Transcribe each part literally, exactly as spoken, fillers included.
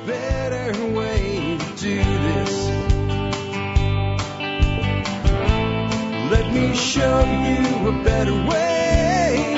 better way to do this. Let me show you a better way.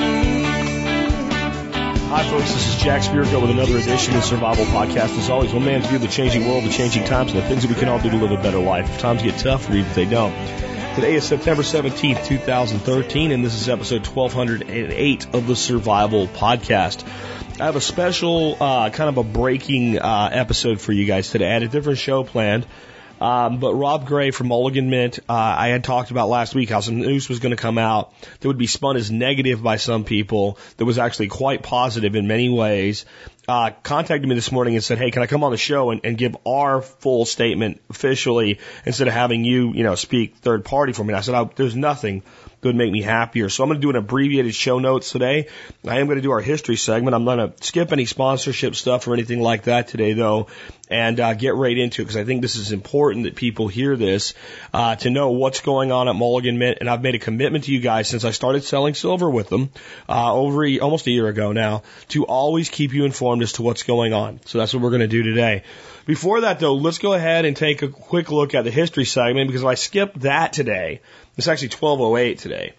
Hi, folks. This is Jack Spirko with another edition of the Survival Podcast. As always, one man's view of the changing world, the changing times, and the things that we can all do to live a better life. If times get tough, or even if they don't. Today is September seventeenth, two thousand thirteen, and this is episode twelve oh eight of the Survival Podcast. I have a special, uh, kind of a breaking uh, episode for you guys today. I had a different show planned. Um, but Rob Gray from Mulligan Mint, uh, I had talked about last week how some news was going to come out that would be spun as negative by some people, that was actually quite positive in many ways. Uh, contacted me this morning and said, hey, can I come on the show and, and give our full statement officially instead of having you, you know, speak third party for me? And I said, oh, there's nothing that would make me happier. So I'm going to do an abbreviated show notes today. I am going to do our history segment. I'm not going to skip any sponsorship stuff or anything like that today, though, and uh, get right into it because I think this is important that people hear this uh, to know what's going on at Mulligan Mint. And I've made a commitment to you guys since I started selling silver with them uh, over a, almost a year ago now to always keep you informed as to what's going on. So that's what we're going to do today. Before that, though, let's go ahead and take a quick look at the history segment because if I skip that today, it's actually twelve oh eight today.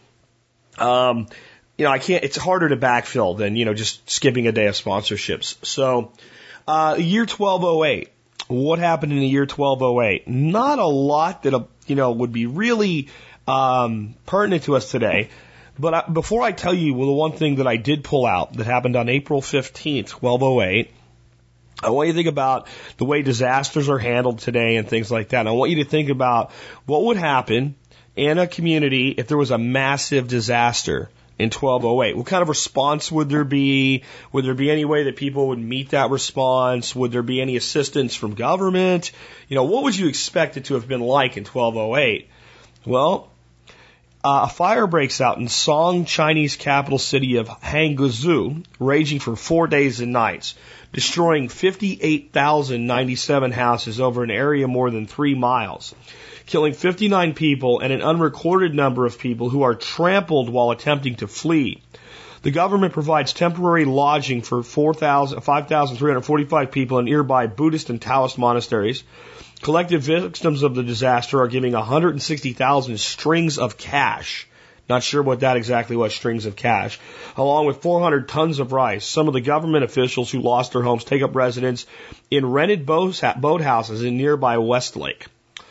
Um, you know, I can't, it's harder to backfill than, you know, just skipping a day of sponsorships. So, uh, year twelve oh eight. What happened in the year twelve oh eight? Not a lot that, uh, you know, would be really, um, pertinent to us today. But I, before I tell you, well, the one thing that I did pull out that happened on April fifteenth, twelve oh eight, I want you to think about the way disasters are handled today and things like that. And I want you to think about what would happen in a community if there was a massive disaster in twelve oh eight. What kind of response would there be? Would there be any way that people would meet that response? Would there be any assistance from government? You know, what would you expect it to have been like in twelve oh eight? Well, Uh, a fire breaks out in Song, Chinese capital city of Hangzhou, raging for four days and nights, destroying fifty-eight thousand ninety-seven houses over an area more than three miles, killing fifty-nine people and an unrecorded number of people who are trampled while attempting to flee. The government provides temporary lodging for five thousand three hundred forty-five people in nearby Buddhist and Taoist monasteries. Collective victims of the disaster are giving one hundred sixty thousand strings of cash. Not sure what that exactly was, strings of cash. Along with four hundred tons of rice. Some of the government officials who lost their homes take up residence in rented boathouses in nearby Westlake.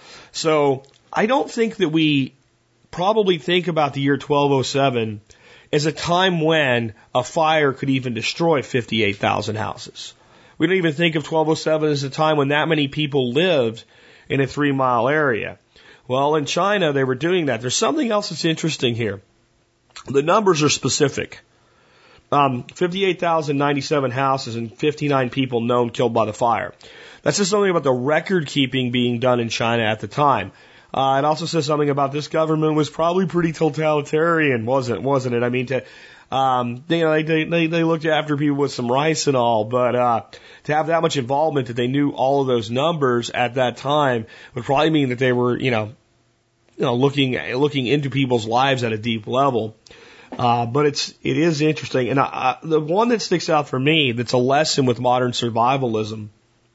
So I don't think that we probably think about the year twelve oh seven as a time when a fire could even destroy fifty-eight thousand houses. We don't even think of twelve oh seven as a time when that many people lived in a three mile area. Well, in China, they were doing that. There's something else that's interesting here. The numbers are specific. Um, fifty-eight thousand ninety-seven houses and fifty-nine people known killed by the fire. That says something about the record keeping being done in China at the time. Uh, it also says something about this government was probably pretty totalitarian, wasn't, wasn't it? I mean, to, Um, they, you know, they, they, they looked after people with some rice and all, but, uh, to have that much involvement that they knew all of those numbers at that time would probably mean that they were, you know, you know, looking, looking into people's lives at a deep level. Uh, but it's, it is interesting. And, uh, the one that sticks out for me that's a lesson with modern survivalism,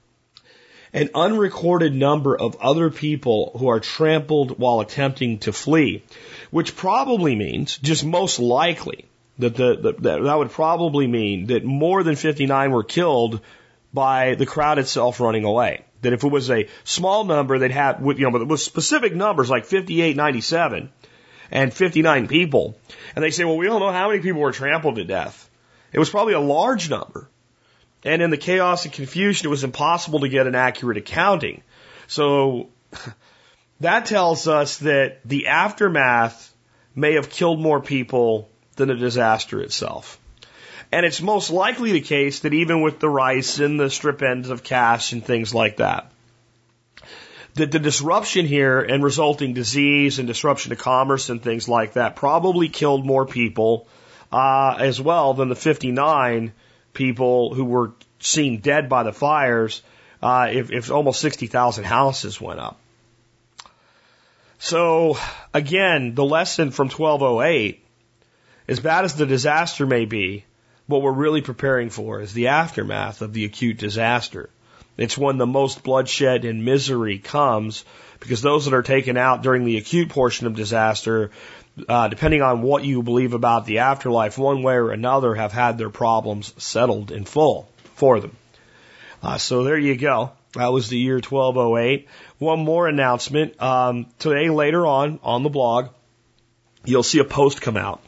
an unrecorded number of other people who are trampled while attempting to flee, which probably means, just most likely, That, the, the, that that would probably mean that more than fifty-nine were killed by the crowd itself running away. That if it was a small number, they'd have, you know, but it was specific numbers like fifty-eight ninety-seven and fifty-nine people. And they say, well, we don't know how many people were trampled to death. It was probably a large number. And in the chaos and confusion, it was impossible to get an accurate accounting. So that tells us that the aftermath may have killed more people than the disaster itself. And it's most likely the case that even with the rice and the strip ends of cash and things like that, that the disruption here and resulting disease and disruption to commerce and things like that probably killed more people uh, as well than the fifty-nine people who were seen dead by the fires uh, if, if almost sixty thousand houses went up. So, again, the lesson from twelve oh eight, as bad as the disaster may be, what we're really preparing for is the aftermath of the acute disaster. It's when the most bloodshed and misery comes, because those that are taken out during the acute portion of disaster, uh, depending on what you believe about the afterlife, one way or another have had their problems settled in full for them. Uh, so there you go. That was the year twelve oh eight. One more announcement. Um, today, later on, on the blog, you'll see a post come out.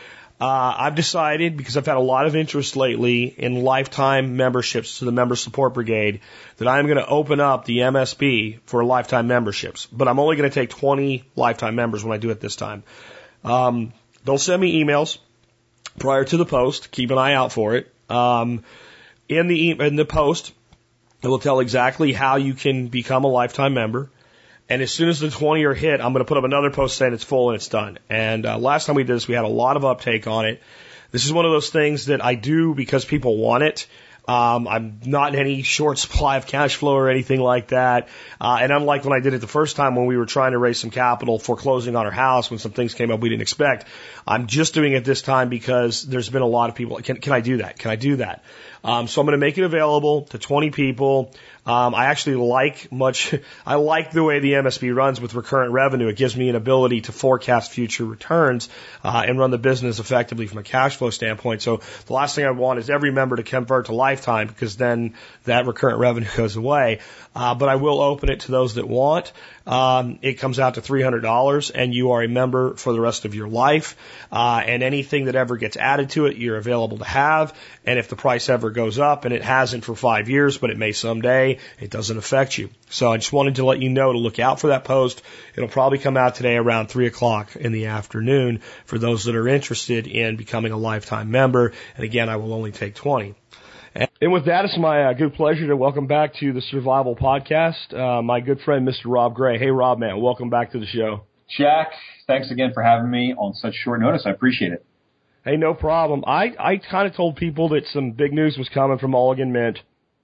Uh, I've decided, because I've had a lot of interest lately in lifetime memberships to the Member Support Brigade, that I'm going to open up the M S B for lifetime memberships. But I'm only going to take twenty lifetime members when I do it this time. Um, they'll send me emails prior to the post. Keep an eye out for it. Um, in the in the post, it will tell exactly how you can become a lifetime member. And as soon as the twenty are hit, I'm going to put up another post saying it's full and it's done. And uh, last time we did this, we had a lot of uptake on it. This is one of those things that I do because people want it. Um, I'm not in any short supply of cash flow or anything like that. Uh, and unlike when I did it the first time when we were trying to raise some capital for closing on our house when some things came up we didn't expect, I'm just doing it this time because there's been a lot of people. Can, can I do that? Can I do that? Um, so I'm going to make it available to twenty people. Um, I actually like much, I like the way the M S B runs with recurrent revenue. It gives me an ability to forecast future returns, uh, and run the business effectively from a cash flow standpoint. So the last thing I want is every member to convert to lifetime, because then that recurrent revenue goes away. Uh, but I will open it to those that want. Um, it comes out to three hundred dollars and you are a member for the rest of your life. Uh, and anything that ever gets added to it, you're available to have. And if the price ever goes up, and it hasn't for five years, but it may someday, it doesn't affect you. So I just wanted to let you know to look out for that post. It'll probably come out today around three o'clock in the afternoon for those that are interested in becoming a lifetime member. And again, I will only take twenty. And with that, it's my uh, good pleasure to welcome back to the Survival Podcast, uh, my good friend, Mister Rob Gray. Hey, Rob, man, welcome back to the show. Jack, thanks again for having me on such short notice. I appreciate it. Hey, no problem. I, I kind of told people that some big news was coming from Mulligan Mint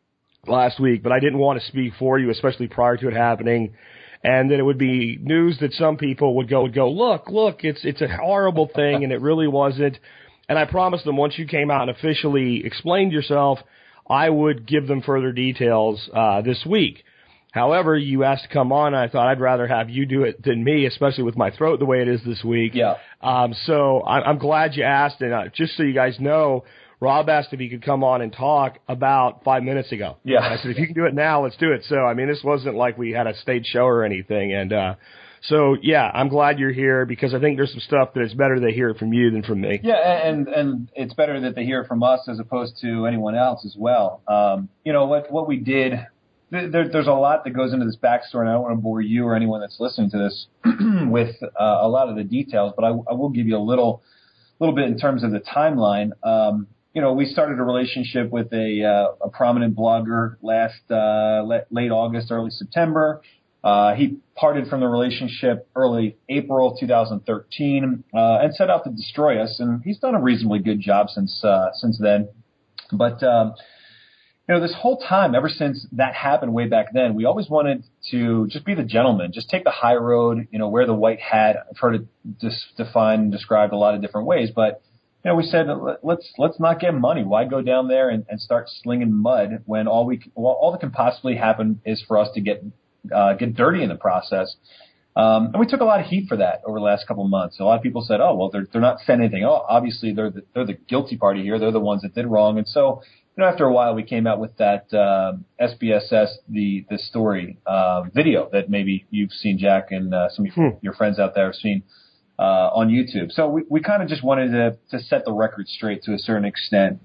last week, but I didn't want to speak for you, especially prior to it happening. And that it would be news that some people would go, would go, look, look, it's, it's a horrible thing, and it really wasn't. And I promised them once you came out and officially explained yourself, I would give them further details uh, this week. However, you asked to come on, and I thought I'd rather have you do it than me, especially with my throat the way it is this week. Yeah. Um, so I, I'm glad you asked, and uh, just so you guys know, Rob asked if he could come on and talk about five minutes ago. Yeah. And I said, if you can do it now, let's do it. So, I mean, this wasn't like we had a stage show or anything, and uh So, yeah, I'm glad you're here, because I think there's some stuff that it's better they hear it from you than from me. Yeah, and and it's better that they hear it from us as opposed to anyone else as well. Um, you know, what what we did, there, there's a lot that goes into this backstory, and I don't want to bore you or anyone that's listening to this with uh, a lot of the details, but I, I will give you a little little bit in terms of the timeline. Um, you know, we started a relationship with a, uh, a prominent blogger last uh, late August, early September. Uh, he parted from the relationship early April two thousand thirteen, uh, and set out to destroy us. And he's done a reasonably good job since, uh, since then. But, um, you know, this whole time, ever since that happened way back then, we always wanted to just be the gentleman, just take the high road, you know, wear the white hat. I've heard it dis- defined and described a lot of different ways, but, you know, we said, let's, let's not get money. Why go down there and, and start slinging mud when all we, well, all that can possibly happen is for us to get Uh, get dirty in the process. Um, and we took a lot of heat for that over the last couple of months. A lot of people said, oh, well, they're, they're not saying anything. Oh, obviously they're the, they're the guilty party here. They're the ones that did wrong. And so, you know, after a while we came out with that, uh, S B S S, the, the story, uh, video that maybe you've seen, Jack, and, uh, some of your, hmm. your friends out there have seen, uh, on YouTube. So we, we kind of just wanted to, to set the record straight to a certain extent.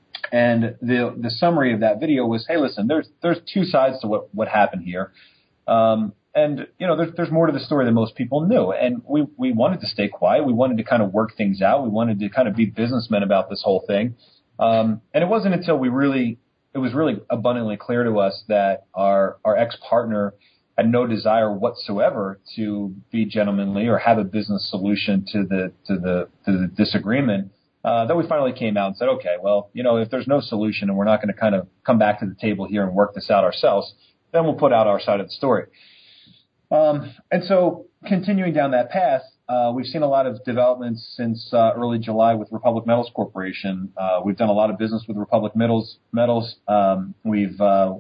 And the, the summary of that video was, hey, listen, there's, there's two sides to what, what happened here. Um, and, you know, there's, there's more to the story than most people knew. And we, we wanted to stay quiet. We wanted to kind of work things out. We wanted to kind of be businessmen about this whole thing. Um, and it wasn't until we really, it was really abundantly clear to us that our, our ex-partner had no desire whatsoever to be gentlemanly or have a business solution to the, to the, to the disagreement. Uh, then we finally came out and said, okay, well, you know, if there's no solution and we're not going to kind of come back to the table here and work this out ourselves, then we'll put out our side of the story. Um, and so continuing down that path, uh, we've seen a lot of developments since uh, early July with Republic Metals Corporation. Uh, we've done a lot of business with Republic Metals. Metals. Um, we've uh,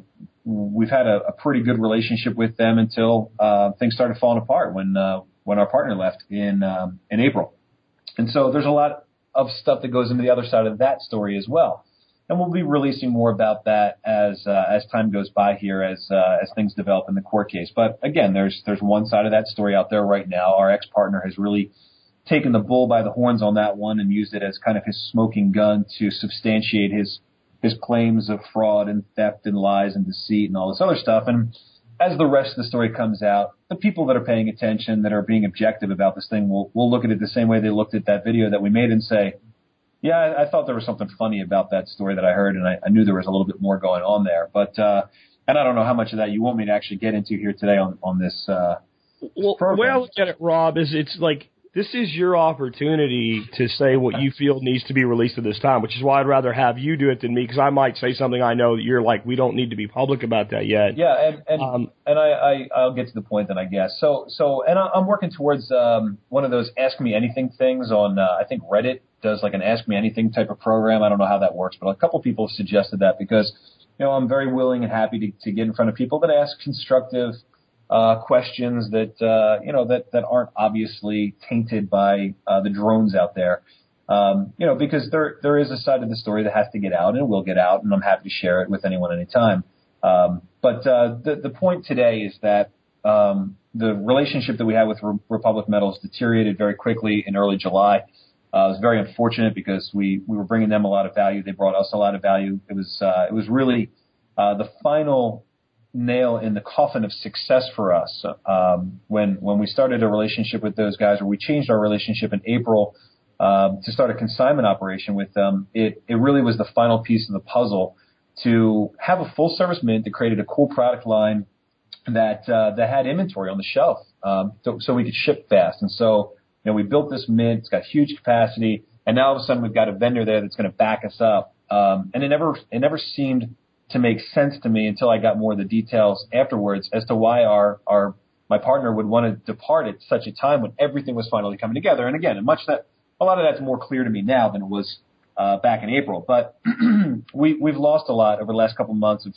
we've had a, a pretty good relationship with them until uh, things started falling apart when uh, when our partner left in um, in April. And so there's a lot of stuff that goes into the other side of that story as well. And we'll be releasing more about that as uh, as time goes by here, as uh, as things develop in the court case. But again, there's there's one side of that story out there right now. Our ex-partner has really taken the bull by the horns on that one and used it as kind of his smoking gun to substantiate his his claims of fraud and theft and lies and deceit and all this other stuff. And as the rest of the story comes out, the people that are paying attention, that are being objective about this thing, will will look at it the same way they looked at that video that we made and say, yeah, I, I thought there was something funny about that story that I heard, and I, I knew there was a little bit more going on there. But uh, and I don't know how much of that you want me to actually get into here today on on this. Uh, well, the way I look at it, Rob, is it's like this is your opportunity to say what you feel needs to be released at this time, which is why I'd rather have you do it than me, because I might say something I know that you're like, we don't need to be public about that yet. Yeah, and and, um, and I, I I'll get to the point then, I guess. So so and I, I'm working towards um, one of those Ask Me Anything things on uh, I think Reddit does like an Ask Me Anything type of program. I don't know how that works, but a couple people have suggested that because you know I'm very willing and happy to, to get in front of people that ask constructive Uh, questions that, uh, you know, that, that aren't obviously tainted by, uh, the drones out there. Um, you know, because there, there is a side of the story that has to get out and will get out, and I'm happy to share it with anyone anytime. Um, but, uh, the, the point today is that, um, the relationship that we had with Re- Republic Metals deteriorated very quickly in early July. Uh, it was very unfortunate because we, we were bringing them a lot of value. They brought us a lot of value. It was, uh, it was really, uh, the final nail in the coffin of success for us. Um, when, when we started a relationship with those guys, or we changed our relationship in April, um, to start a consignment operation with them, it, it really was the final piece of the puzzle to have a full service mint that created a cool product line that, uh, that had inventory on the shelf, um, so, so we could ship fast. And so, you know, we built this mint, it's got huge capacity, and now all of a sudden we've got a vendor there that's going to back us up. Um, and it never, it never seemed to make sense to me until I got more of the details afterwards as to why our, our, my partner would want to depart at such a time when everything was finally coming together. And again, much that, a lot of that's more clear to me now than it was, uh, back in April. But we, we've lost a lot over the last couple of months of,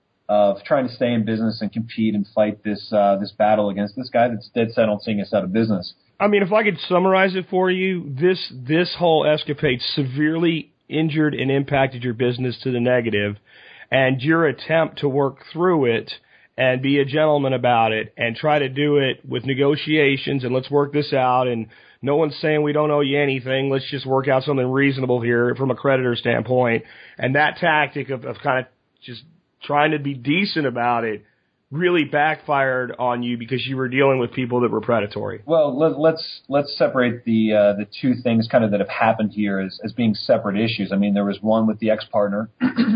of trying to stay in business and compete and fight this, uh, this battle against this guy that's dead set on seeing us out of business. I mean, if I could summarize it for you, this, this whole escapade severely injured and impacted your business to the negative. And your attempt to work through it and be a gentleman about it and try to do it with negotiations and let's work this out and no one's saying we don't owe you anything, let's just work out something reasonable here from a creditor standpoint. And that tactic of, of kind of just trying to be decent about it really backfired on you because you were dealing with people that were predatory. Well, let, let's let's separate the uh, the two things kind of that have happened here as, as being separate issues. I mean, there was one with the ex-partner,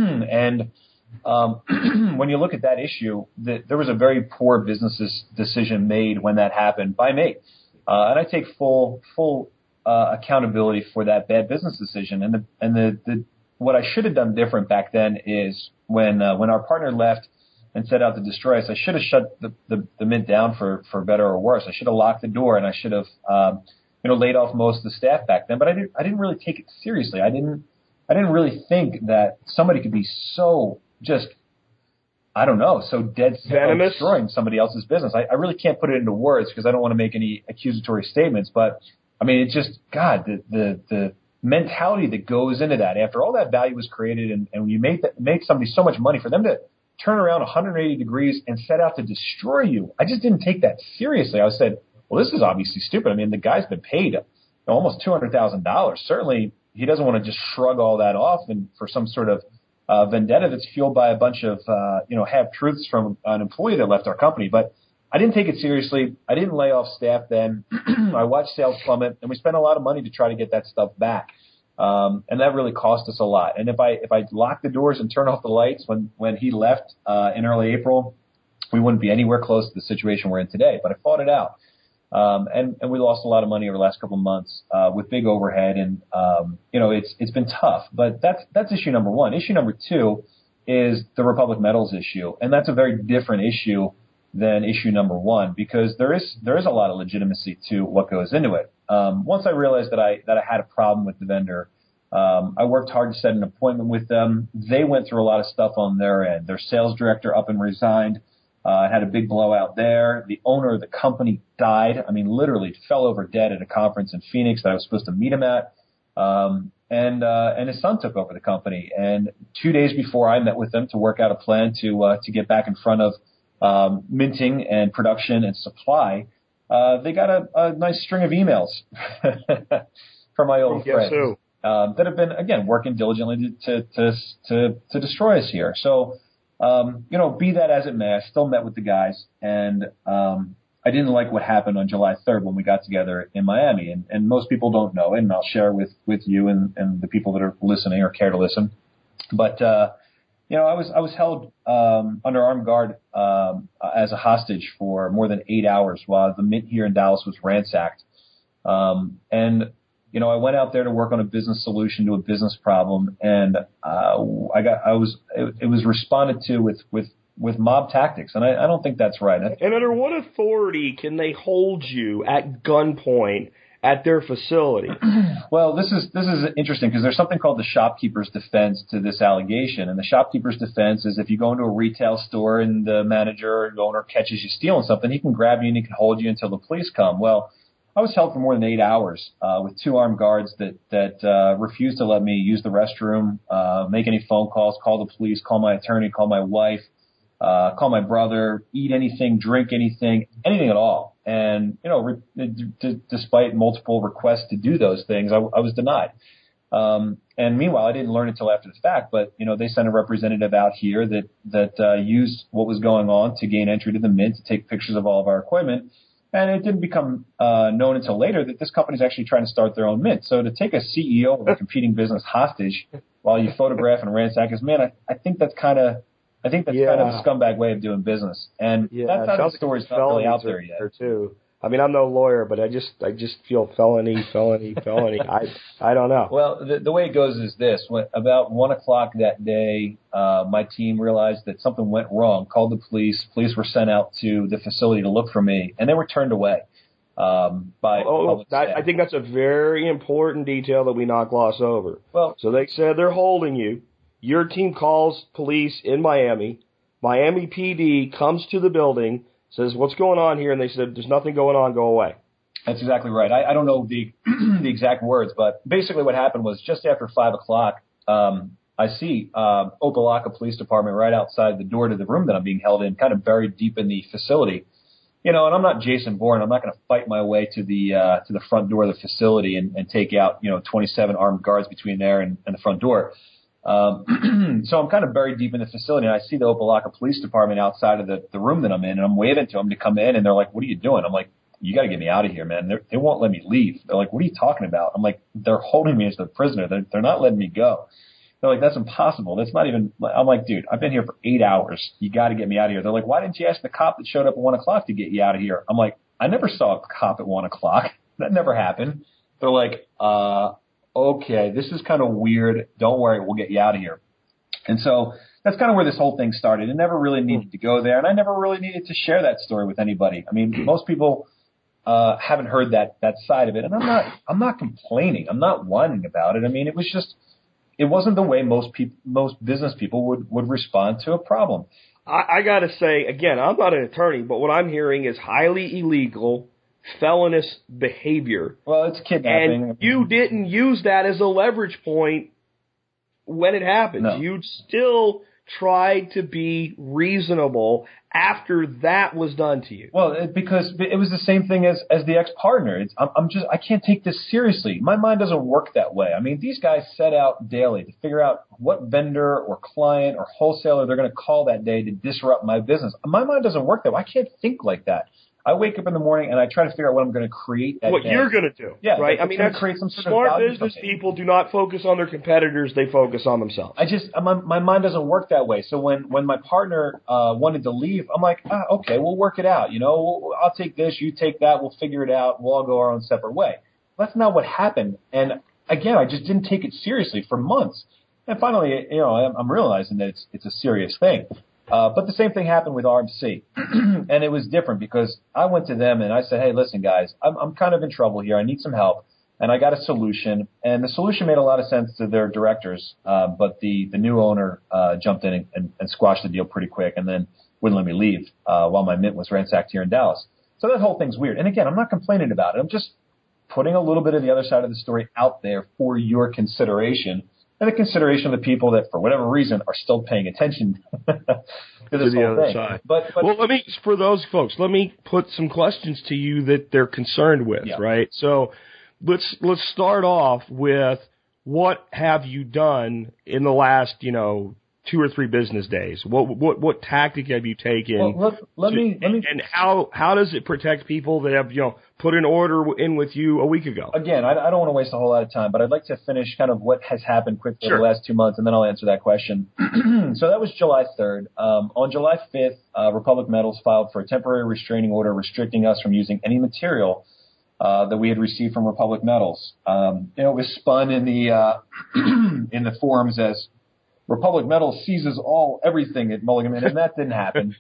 and um, when you look at that issue, the, there was a very poor business decision made when that happened by me, uh, and I take full full uh, accountability for that bad business decision. And the and the, the what I should have done different back then is when uh, when our partner left and set out to destroy us, I should have shut the, the, the mint down for, for better or worse. I should have locked the door, and I should have, um, you know, laid off most of the staff back then. But I didn't, I didn't really take it seriously. I didn't, I didn't really think that somebody could be so just, I don't know, so dead set on destroying somebody else's business. I, I really can't put it into words because I don't want to make any accusatory statements. But I mean, it's just, God, the, the, the mentality that goes into that after all that value was created, and, and when you make that, make somebody so much money, for them to turn around one hundred eighty degrees and set out to destroy you. I just didn't take that seriously. I said, well, this is obviously stupid. I mean, the guy's been paid almost two hundred thousand dollars. Certainly, he doesn't want to just shrug all that off and for some sort of uh, vendetta that's fueled by a bunch of, uh, you know, half-truths from an employee that left our company. But I didn't take it seriously. I didn't lay off staff then. I watched sales plummet, and we spent a lot of money to try to get that stuff back. Um, and that really cost us a lot. And if I, if I locked the doors and turned off the lights when, when he left, uh, in early April, we wouldn't be anywhere close to the situation we're in today, but I fought it out. Um, and, and we lost a lot of money over the last couple of months, uh, with big overhead. And, um, you know, it's, it's been tough, but that's, that's issue number one. Issue number two is the Republic Metals issue. And that's a very different issue than issue number one, because there is, there is a lot of legitimacy to what goes into it. Um, once I realized that I, that I had a problem with the vendor, Um, I worked hard to set an appointment with them. They went through a lot of stuff on their end. Their sales director up and resigned. Uh, had a big blowout there. The owner of the company died. I mean, literally fell over dead at a conference in Phoenix that I was supposed to meet him at. Um, and, uh, and his son took over the company. And two days before I met with them to work out a plan to, uh, to get back in front of, um, minting and production and supply, uh, they got a, a nice string of emails from my old Guess friends. who? Um, that have been, again, working diligently to, to, to, to destroy us here. So, um, you know, be that as it may, I still met with the guys, and, um, I didn't like what happened on July third when we got together in Miami, and, and most people don't know it, and I'll share with, with you and, and the people that are listening or care to listen. But, uh, you know, I was, I was held, um, under armed guard, um, as a hostage for more than eight hours while the Mint here in Dallas was ransacked. Um, and, You know, I went out there to work on a business solution to a business problem, and uh, I got, I was, it, it was responded to with, with, with mob tactics, and I, I don't think that's right. And under what authority can they hold you at gunpoint at their facility? Well, this is this is interesting because there's something called the shopkeeper's defense to this allegation, and the shopkeeper's defense is if you go into a retail store and the manager or the owner catches you stealing something, he can grab you and he can hold you until the police come. Well, I was held for more than eight hours uh, with two armed guards that that uh, refused to let me use the restroom, uh, make any phone calls, call the police, call my attorney, call my wife, uh, call my brother, eat anything, drink anything, anything at all. And, you know, re- d- d- despite multiple requests to do those things, I, I was denied. Um, and meanwhile, I didn't learn until after the fact, but, you know, they sent a representative out here that, that uh, used what was going on to gain entry to the Mint, to take pictures of all of our equipment. And it didn't become uh, known until later that this company is actually trying to start their own mint. So to take a C E O of a competing business hostage while you photograph and ransack his mint, I, I think that's kind of, I think that's yeah. kind of a scumbag way of doing business. And yeah, that kind of story's not really out there yet. Too. I mean, I'm no lawyer, but I just, I just feel felony, felony, felony. I, I don't know. Well, the, the way it goes is this: when, about one o'clock that day, uh, my team realized that something went wrong. Called the police. Police were sent out to the facility to look for me, and they were turned away um, by. Oh, public that, staff. I think that's a very important detail that we not gloss over. Well, so they said they're holding you. Your team calls police in Miami. Miami P D comes to the building. Says, what's going on here? And they said, there's nothing going on, go away. That's exactly right. I, I don't know the the exact words, but basically what happened was just after five o'clock, um, I see um, Opa-locka Police Department right outside the door to the room that I'm being held in, kind of buried deep in the facility. You know, and I'm not Jason Bourne. I'm not going to fight my way to the uh, to the front door of the facility and, and take out, you know, twenty-seven armed guards between there and, and the front door. Um, so I'm kind of buried deep in the facility, and I see the Opa-locka Police Department outside of the, the room that I'm in, and I'm waving to them to come in, and they're like, what are you doing? I'm like, you got to get me out of here, man. They're, they won't let me leave. They're like, what are you talking about? I'm like, they're holding me as a prisoner. They're, they're not letting me go. They're like, that's impossible. That's not even – I'm like, dude, I've been here for eight hours. You got to get me out of here. They're like, why didn't you ask the cop that showed up at one o'clock to get you out of here? I'm like, I never saw a cop at one o'clock. That never happened. They're like, uh, okay, this is kind of weird. Don't worry. We'll get you out of here. And so that's kind of where this whole thing started. It never really needed to go there, and I never really needed to share that story with anybody. I mean, most people uh, haven't heard that that side of it, and I'm not I'm not complaining. I'm not whining about it. I mean, it was just it wasn't the way most people most business people would would respond to a problem. I, I got to say again, I'm not an attorney, but what I'm hearing is highly illegal, felonious behavior. Well, it's kidnapping, and you didn't use that as a leverage point. When it happened, no. You'd still try to be reasonable after that was done to you. Well, it, because it was the same thing as, as the ex-partner. It's, I'm, I'm just, I can't take this seriously. My mind doesn't work that way. I mean, these guys set out daily to figure out what vendor or client or wholesaler they're going to call that day to disrupt my business. My mind doesn't work that way. I can't think like that. I wake up in the morning and I try to figure out what I'm going to create that What day. you're going to do, yeah, right? Like, I mean, that's create some sort smart of value business company. people do not focus on their competitors; they focus on themselves. I just my, my mind doesn't work that way. So when when my partner uh, wanted to leave, I'm like, ah, okay, we'll work it out. You know, we'll, I'll take this, you take that, we'll figure it out. We'll all go our own separate way. That's not what happened. And again, I just didn't take it seriously for months. And finally, you know, I'm, I'm realizing that it's it's a serious thing. Uh, but the same thing happened with R M C, and it was different because I went to them and I said, hey, listen, guys, I'm, I'm kind of in trouble here. I need some help. And I got a solution, and the solution made a lot of sense to their directors, uh, but the, the new owner uh, jumped in and, and, and squashed the deal pretty quick and then wouldn't let me leave uh, while my mint was ransacked here in Dallas. So that whole thing's weird. And again, I'm not complaining about it. I'm just putting a little bit of the other side of the story out there for your consideration and the consideration of the people that, for whatever reason, are still paying attention to this to the whole other thing. side. But, but well, let me, for those folks, let me put some questions to you that they're concerned with, yeah. right? So let's let's start off with what have you done in the last, you know, two or three business days? What what what tactic have you taken? Well, let, let to, me let me and how how does it protect people that have, you know, put an order in with you a week ago? Again, I, I don't want to waste a whole lot of time, but I'd like to finish kind of what has happened quickly Sure. over the last two months, and then I'll answer that question. So that was July third. Um, on July fifth, uh, Republic Metals filed for a temporary restraining order restricting us from using any material uh, that we had received from Republic Metals. Um, you know, it was spun in the uh, in the forums as Republic Metals seizes all everything at Mulligan, and that didn't happen.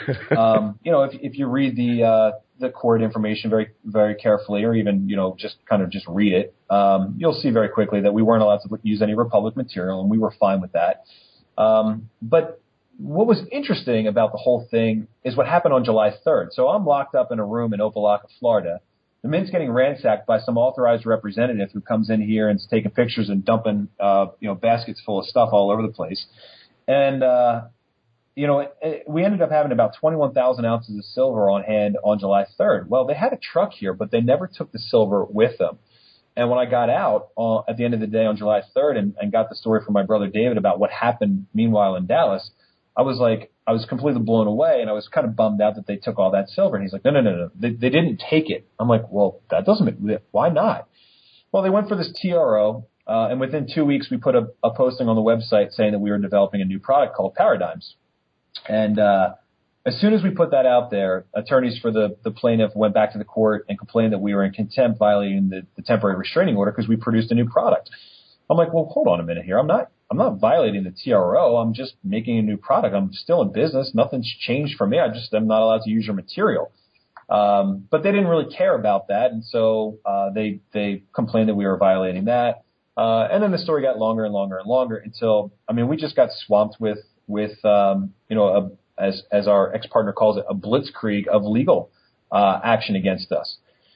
Um, you know, if if you read the uh, the court information very very carefully, or even you know just kind of just read it, um, you'll see very quickly that we weren't allowed to use any Republic material, and we were fine with that. Um, but what was interesting about the whole thing is what happened on July third. So I'm locked up in a room in Opelika, Florida. The mint's getting ransacked by some authorized representative who comes in here and is taking pictures and dumping, uh, you know, baskets full of stuff all over the place. And, uh, you know, it, it, we ended up having about twenty-one thousand ounces of silver on hand on July third. Well, they had a truck here, but they never took the silver with them. And when I got out uh, at the end of the day on July third and, and got the story from my brother David about what happened meanwhile in Dallas, I was like, I was completely blown away, and I was kind of bummed out that they took all that silver. And he's like, no, no, no, no, they, they didn't take it. I'm like, well, that doesn't make, why not? Well, they went for this T R O, uh, and within two weeks we put a, a posting on the website saying that we were developing a new product called Paradigms. And uh, as soon as we put that out there, attorneys for the, the plaintiff went back to the court and complained that we were in contempt violating the, the temporary restraining order because we produced a new product. I'm like, well, hold on a minute here. I'm not I'm not violating the T R O. I'm just making a new product. I'm still in business. Nothing's changed for me. I just am not allowed to use your material. Um, but they didn't really care about that, and so uh, they they complained that we were violating that. Uh, and then the story got longer and longer and longer until, I mean, we just got swamped with with um, you know a, as as our ex-partner calls it, a blitzkrieg of legal uh, action against us.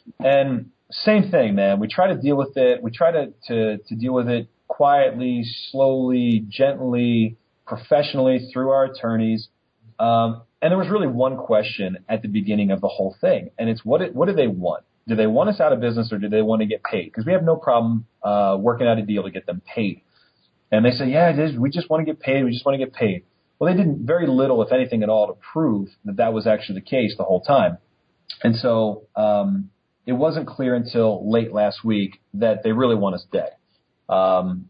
And same thing, man. We try to deal with it. We try to to, to deal with it quietly, slowly, gently, professionally through our attorneys. Um, and there was really one question at the beginning of the whole thing, and it's what it, what do they want? Do they want us out of business, or do they want to get paid? Because we have no problem uh, working out a deal to get them paid. And they say, yeah, it is. We just want to get paid. We just want to get paid. Well, they did very little, if anything at all, to prove that that was actually the case the whole time. And so um, it wasn't clear until late last week that they really want us dead. Um,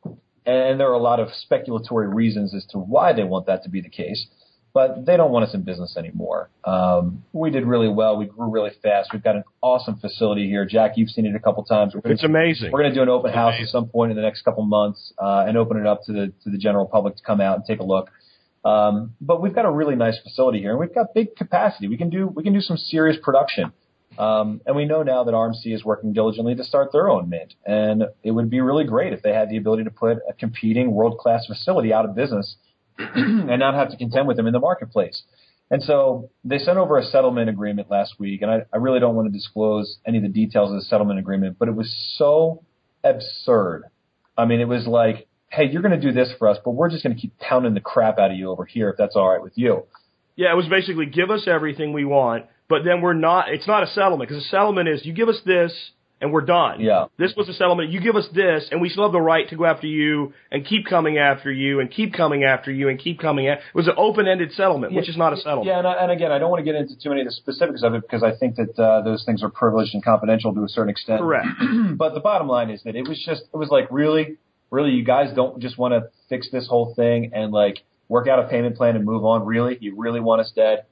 and there are a lot of speculatory reasons as to why they want that to be the case, but they don't want us in business anymore. Um, we did really well. We grew really fast. We've got an awesome facility here. Jack, you've seen it a couple times. We're gonna, it's amazing. We're going to do an open it's house amazing. at some point in the next couple months, uh, and open it up to the, to the general public to come out and take a look. Um, but we've got a really nice facility here, and we've got big capacity. We can do, we can do some serious production. Um, and we know now that R M C is working diligently to start their own mint. And it would be really great if they had the ability to put a competing world-class facility out of business and not have to contend with them in the marketplace. And so they sent over a settlement agreement last week, and I, I really don't want to disclose any of the details of the settlement agreement, but it was so absurd. I mean, it was like, hey, you're going to do this for us, but we're just going to keep pounding the crap out of you over here if that's all right with you. Yeah, it was basically give us everything we want, but then we're not, it's not a settlement, because a settlement is you give us this and we're done. Yeah. This was a settlement. You give us this and we still have the right to go after you and keep coming after you and keep coming after you and keep coming after. It was an open-ended settlement, yeah, which is not a settlement. Yeah, and, I, and again, I don't want to get into too many of the specifics of it because I think that uh, those things are privileged and confidential to a certain extent. Correct. But the bottom line is that it was just, it was like, really, really, you guys don't just want to fix this whole thing and like work out a payment plan and move on? Really? You really want us dead?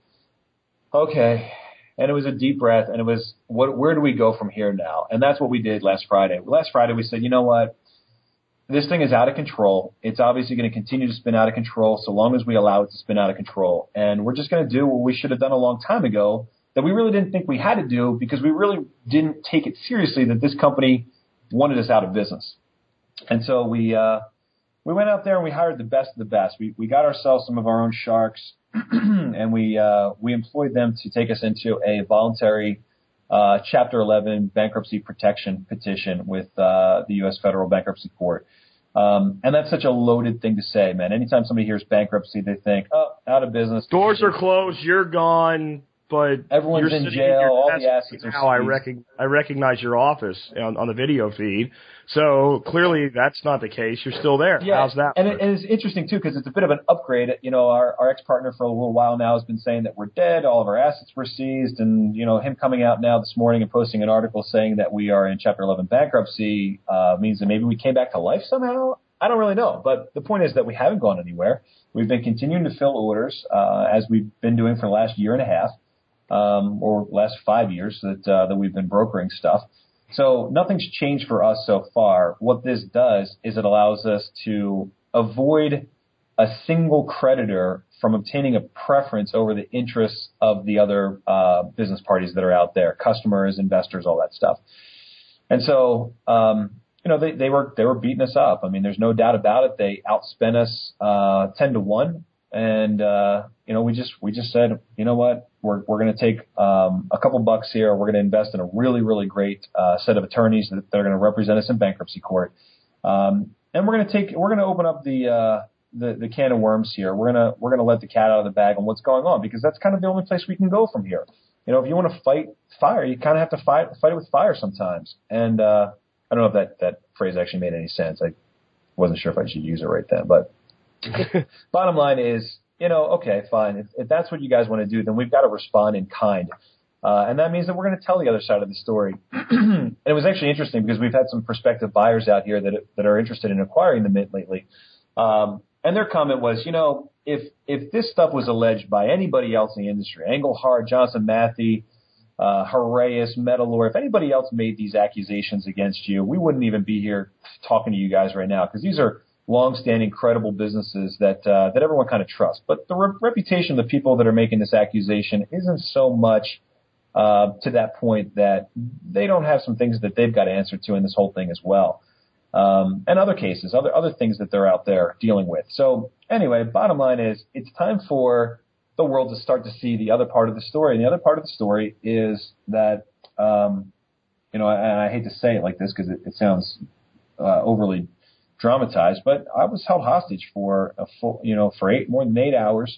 Okay. And it was a deep breath, and it was, what, where do we go from here now? And that's what we did last Friday. Last Friday we said, you know what? This thing is out of control. It's obviously going to continue to spin out of control so long as we allow it to spin out of control. And we're just going to do what we should have done a long time ago that we really didn't think we had to do because we really didn't take it seriously that this company wanted us out of business. And so we uh, we went out there and we hired the best of the best. We we got ourselves some of our own sharks, and we uh, we employed them to take us into a voluntary uh, Chapter eleven bankruptcy protection petition with uh, the U S Federal Bankruptcy Court. Um, and that's such a loaded thing to say, man. Anytime somebody hears bankruptcy, they think, oh, out of business. Doors are closed, you're gone, but everyone's you're in sitting jail, in your all desk. the assets are Now I, seized. rec- I recognize your office on, on the video feed. So clearly that's not the case. You're still there. Yeah, How's that and, work? it, and it's interesting, too, because it's a bit of an upgrade. You know, our, our ex-partner for a little while now has been saying that we're dead, all of our assets were seized, and, you know, him coming out now this morning and posting an article saying that we are in Chapter eleven bankruptcy uh, means that maybe we came back to life somehow. I don't really know, but the point is that we haven't gone anywhere. We've been continuing to fill orders uh, as we've been doing for the last year and a half, um, or last five years that uh, that we've been brokering stuff. So nothing's changed for us so far. What this does is it allows us to avoid a single creditor from obtaining a preference over the interests of the other uh, business parties that are out there, customers, investors, all that stuff. And so, um, you know, they, they were they were beating us up. I mean, there's no doubt about it. They outspent us uh, ten to one, and uh, you know, we just we just said, you know what, we're we're going to take um, a couple bucks here. We're going to invest in a really really great uh, set of attorneys that, that are going to represent us in bankruptcy court, um, and we're going to take we're going to open up the, uh, the the can of worms here. We're gonna we're gonna let the cat out of the bag on what's going on, because that's kind of the only place we can go from here. You know, if you want to fight fire, you kind of have to fight fight it with fire sometimes, and uh, I don't know if that, that phrase actually made any sense. I wasn't sure if I should use it right then. But bottom line is, you know, okay, fine. If, if that's what you guys want to do, then we've got to respond in kind. Uh, and that means that we're going to tell the other side of the story. And it was actually interesting because we've had some prospective buyers out here that that are interested in acquiring the Mint lately. Um, and their comment was, you know, if if this stuff was alleged by anybody else in the industry, Engelhard, Johnson Matthey, Uh, Haraeus, Metalor, if anybody else made these accusations against you, we wouldn't even be here talking to you guys right now, because these are long-standing, credible businesses that uh, that everyone kind of trusts. But the re- reputation of the people that are making this accusation isn't so much uh, to that point that they don't have some things that they've got to answer to in this whole thing as well. Um, and other cases, other other things that they're out there dealing with. So anyway, bottom line is it's time for the world to start to see the other part of the story. And the other part of the story is that, um, you know, and I hate to say it like this because it, it sounds uh, overly dramatized, but I was held hostage for a full, you know, for eight more than eight hours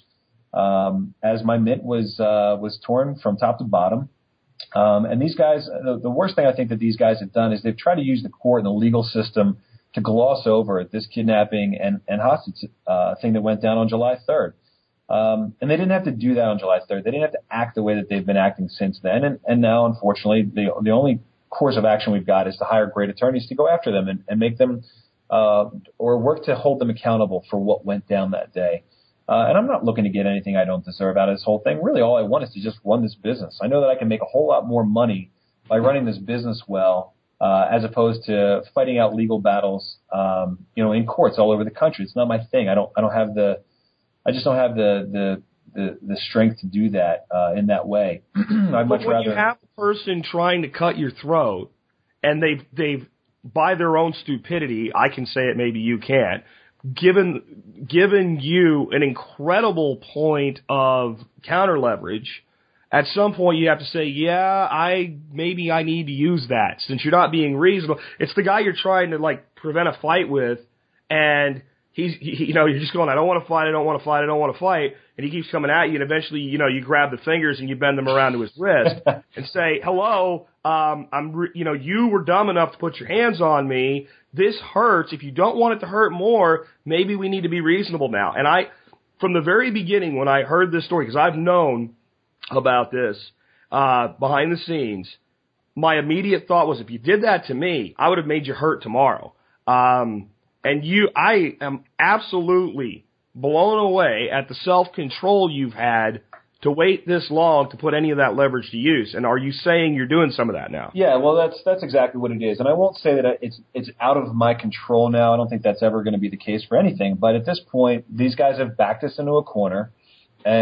um, as my Mint was uh, was torn from top to bottom. Um, and these guys, the, the worst thing I think that these guys have done is they've tried to use the court and the legal system to gloss over this kidnapping and, and hostage uh, thing that went down on July third. Um, and they didn't have to do that on July third. They didn't have to act the way that they've been acting since then. And, and now, unfortunately, the, the only course of action we've got is to hire great attorneys to go after them and, and make them uh, or work to hold them accountable for what went down that day. Uh, and I'm not looking to get anything I don't deserve out of this whole thing. Really, all I want is to just run this business. I know that I can make a whole lot more money by running this business well, uh, as opposed to fighting out legal battles, um, you know, in courts all over the country. It's not my thing. I don't, I don't have the, I just don't have the, the, the, the strength to do that, uh, in that way. I'd much but when rather. you have a person trying to cut your throat and they've, they've, by their own stupidity, I can say it, maybe you can't, given given you an incredible point of counter leverage, at some point you have to say, yeah, I maybe I need to use that since you're not being reasonable. It's the guy you're trying to like prevent a fight with, and he's he, you know you're just going, I don't want to fight, I don't want to fight, I don't want to fight, and he keeps coming at you, and eventually you know you grab the fingers and you bend them around to his wrist and say, hello, um, I'm re- you know you were dumb enough to put your hands on me. This hurts. If you don't want it to hurt more, maybe we need to be reasonable now. And I, from the very beginning when I heard this story, because I've known about this uh, behind the scenes, my immediate thought was, if you did that to me, I would have made you hurt tomorrow. Um, and you, I am absolutely blown away at the self-control you've had to wait this long to put any of that leverage to use. And are you saying you're doing some of that now? Yeah, well, that's that's exactly what it is. And I won't say that it's it's out of my control now. I don't think that's ever going to be the case for anything. But at this point, these guys have backed us into a corner. And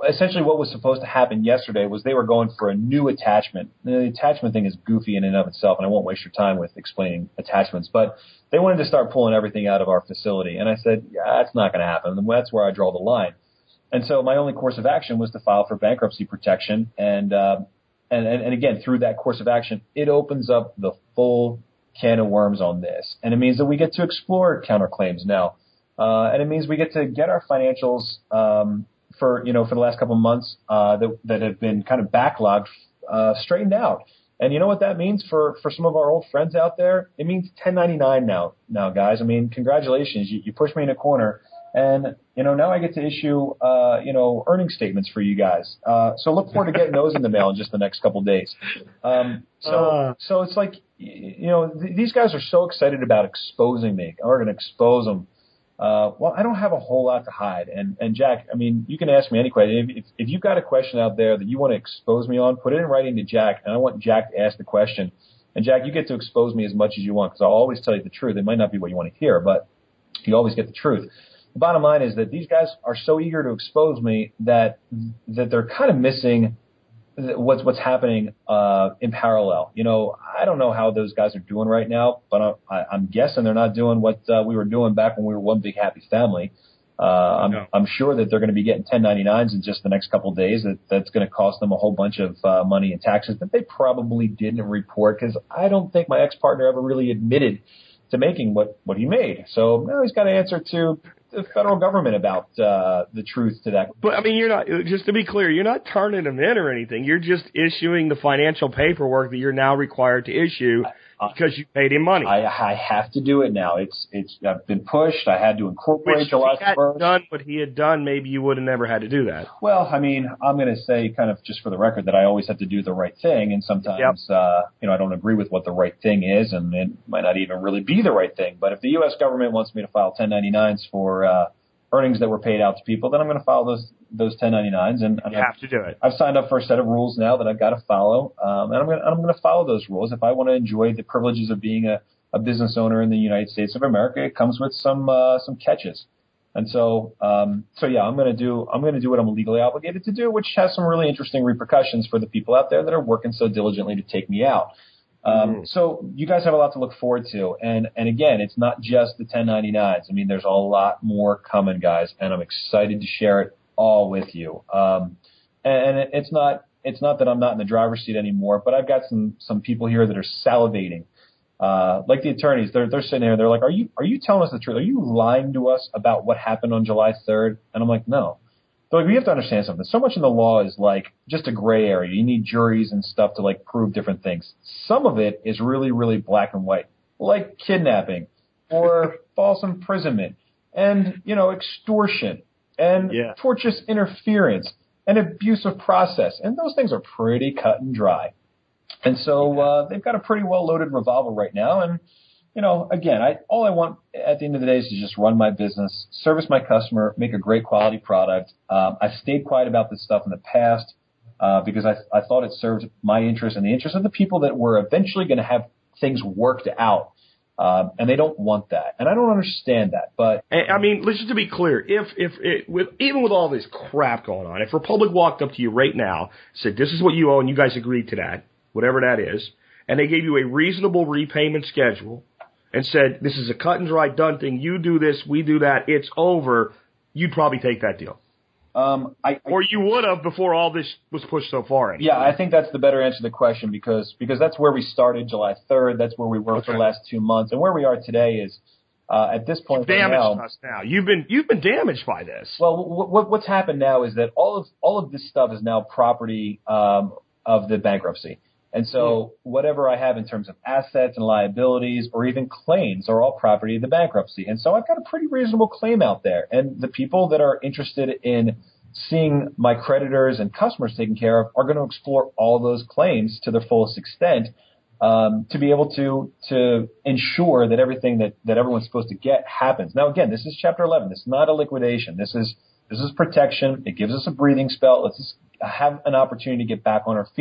essentially what was supposed to happen yesterday was they were going for a new attachment. The attachment thing is goofy in and of itself, and I won't waste your time with explaining attachments, but they wanted to start pulling everything out of our facility. And I said, yeah, that's not going to happen. And that's where I draw the line. And so my only course of action was to file for bankruptcy protection. And, uh, and, and, and again, through that course of action, it opens up the full can of worms on this. And it means that we get to explore counterclaims now. Uh, and it means we get to get our financials, um, for, you know, for the last couple of months, uh, that, that have been kind of backlogged, uh, straightened out. And you know what that means for, for some of our old friends out there? It means ten ninety-nine now, now guys. I mean, congratulations. You, you pushed me in a corner. And, you know, now I get to issue, uh, you know, earnings statements for you guys. Uh, so look forward to getting those in the mail in just the next couple of days. Um, so, uh. so it's like, you know, th- these guys are so excited about exposing me. We're going to expose them. Uh, well, I don't have a whole lot to hide. And, and Jack, I mean, you can ask me any question. If, if, if you've got a question out there that you want to expose me on, put it in writing to Jack, and I want Jack to ask the question. And Jack, you get to expose me as much as you want, because I'll always tell you the truth. It might not be what you want to hear, but you always get the truth. The bottom line is that these guys are so eager to expose me that that they're kind of missing what's what's happening uh, in parallel. You know, I don't know how those guys are doing right now, but I, I'm guessing they're not doing what uh, we were doing back when we were one big happy family. Uh, I'm, no. I'm sure that they're going to be getting ten ninety-nines in just the next couple of days. That that's going to cost them a whole bunch of uh, money in taxes that they probably didn't report, because I don't think my ex-partner ever really admitted to making what, what he made. So now he's got to answer to the federal government about uh, the truth to that. But, I mean, you're not, just to be clear, you're not turning them in or anything. You're just issuing the financial paperwork that you're now required to issue because you paid him money. I, I have to do it now. It's it's I've been pushed. I had to incorporate Which July if he had first. done what he had done, maybe you would have never had to do that. Well, I mean, I'm going to say kind of just for the record that I always have to do the right thing, and sometimes yep. uh, you know I don't agree with what the right thing is, and it might not even really be the right thing. But if the U S government wants me to file ten ninety-nines for uh, earnings that were paid out to people, then I'm going to file those those ten ninety-nines, and you have to do it. I've signed up for a set of rules now that I've got to follow, um, and I'm going to, I'm going to follow those rules. If I want to enjoy the privileges of being a, a business owner in the United States of America, it comes with some uh, some catches. And so, um, so yeah, I'm going to do I'm going to do what I'm legally obligated to do, which has some really interesting repercussions for the people out there that are working so diligently to take me out. Um, mm. So you guys have a lot to look forward to. And, and again, it's not just the ten ninety-nines. I mean, there's a lot more coming, guys, and I'm excited to share it all with you. Um, and it, it's not, it's not that I'm not in the driver's seat anymore, but I've got some, some people here that are salivating. Uh, like the attorneys, they're, they're sitting here, they're like, are you, are you telling us the truth? Are you lying to us about what happened on July third? And I'm like, no. They're like, we have to understand something. So much in the law is like just a gray area. You need juries and stuff to like prove different things. Some of it is really, really black and white, like kidnapping or false imprisonment and, you know, extortion and yeah. tortious interference and abuse of process. And those things are pretty cut and dry. And so uh, they've got a pretty well-loaded revolver right now. And, you know, again, I all I want at the end of the day is to just run my business, service my customer, make a great quality product. Um, I've stayed quiet about this stuff in the past uh, because I, I thought it served my interest and the interest of the people that were eventually going to have things worked out. Um, and they don't want that. And I don't understand that. But I mean, let's just to be clear, if if it, with even with all this crap going on, if Republic walked up to you right now, said, this is what you owe, and you guys agreed to that, whatever that is, and they gave you a reasonable repayment schedule and said, this is a cut and dry done thing, you do this, we do that, it's over, you'd probably take that deal. Um, I, I, or you would have before all this was pushed so far. Anyway. Yeah, I think that's the better answer to the question because because that's where we started July third. That's where we were okay. for the last two months. And where we are today is uh, at this point You've damaged right now, us now. You've been you've been damaged by this. Well, w- w- what's happened now is that all of all of this stuff is now property um, of the bankruptcy. And so whatever I have in terms of assets and liabilities or even claims are all property of the bankruptcy. And so I've got a pretty reasonable claim out there. And the people that are interested in seeing my creditors and customers taken care of are going to explore all those claims to their fullest extent um, to be able to to ensure that everything that, that everyone's supposed to get happens. Now, again, this is Chapter eleven. This is not a liquidation. This is this is protection. It gives us a breathing spell. Let's just have an opportunity to get back on our feet.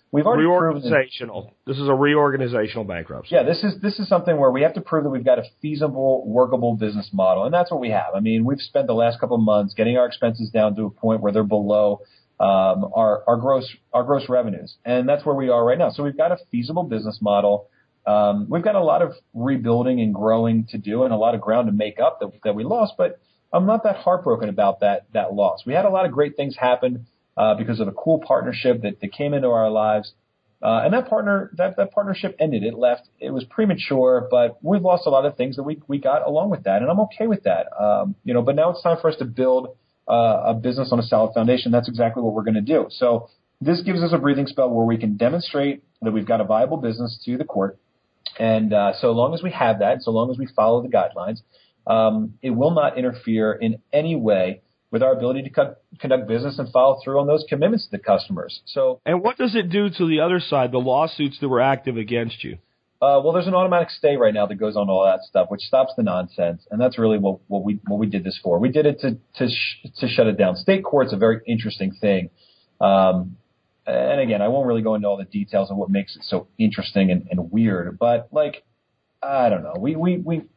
we've already proven that, reorganizational. This is a reorganizational bankruptcy. Yeah, this is this is something where we have to prove that we've got a feasible, workable business model, and that's what we have. I mean, we've spent the last couple of months getting our expenses down to a point where they're below um, our our gross our gross revenues, and that's where we are right now. So we've got a feasible business model. Um, we've got a lot of rebuilding and growing to do, and a lot of ground to make up that that we lost, but I'm not that heartbroken about that that loss. We had a lot of great things happen uh, because of a cool partnership that, that came into our lives, uh, and that partner that, that partnership ended. It left. It was premature, but we've lost a lot of things that we we got along with that, and I'm okay with that. Um, you know, but now it's time for us to build uh, a business on a solid foundation. That's exactly what we're going to do. So this gives us a breathing spell where we can demonstrate that we've got a viable business to the court, and uh, so long as we have that, so long as we follow the guidelines. Um, it will not interfere in any way with our ability to co- conduct business and follow through on those commitments to the customers. So, and what does it do to the other side, the lawsuits that were active against you? Uh, well, there's an automatic stay right now that goes on all that stuff, which stops the nonsense, and that's really what, what we what we did this for. We did it to to sh- to shut it down. State court's a very interesting thing, um, and again, I won't really go into all the details of what makes it so interesting and, and weird. But like, I don't know, we we we.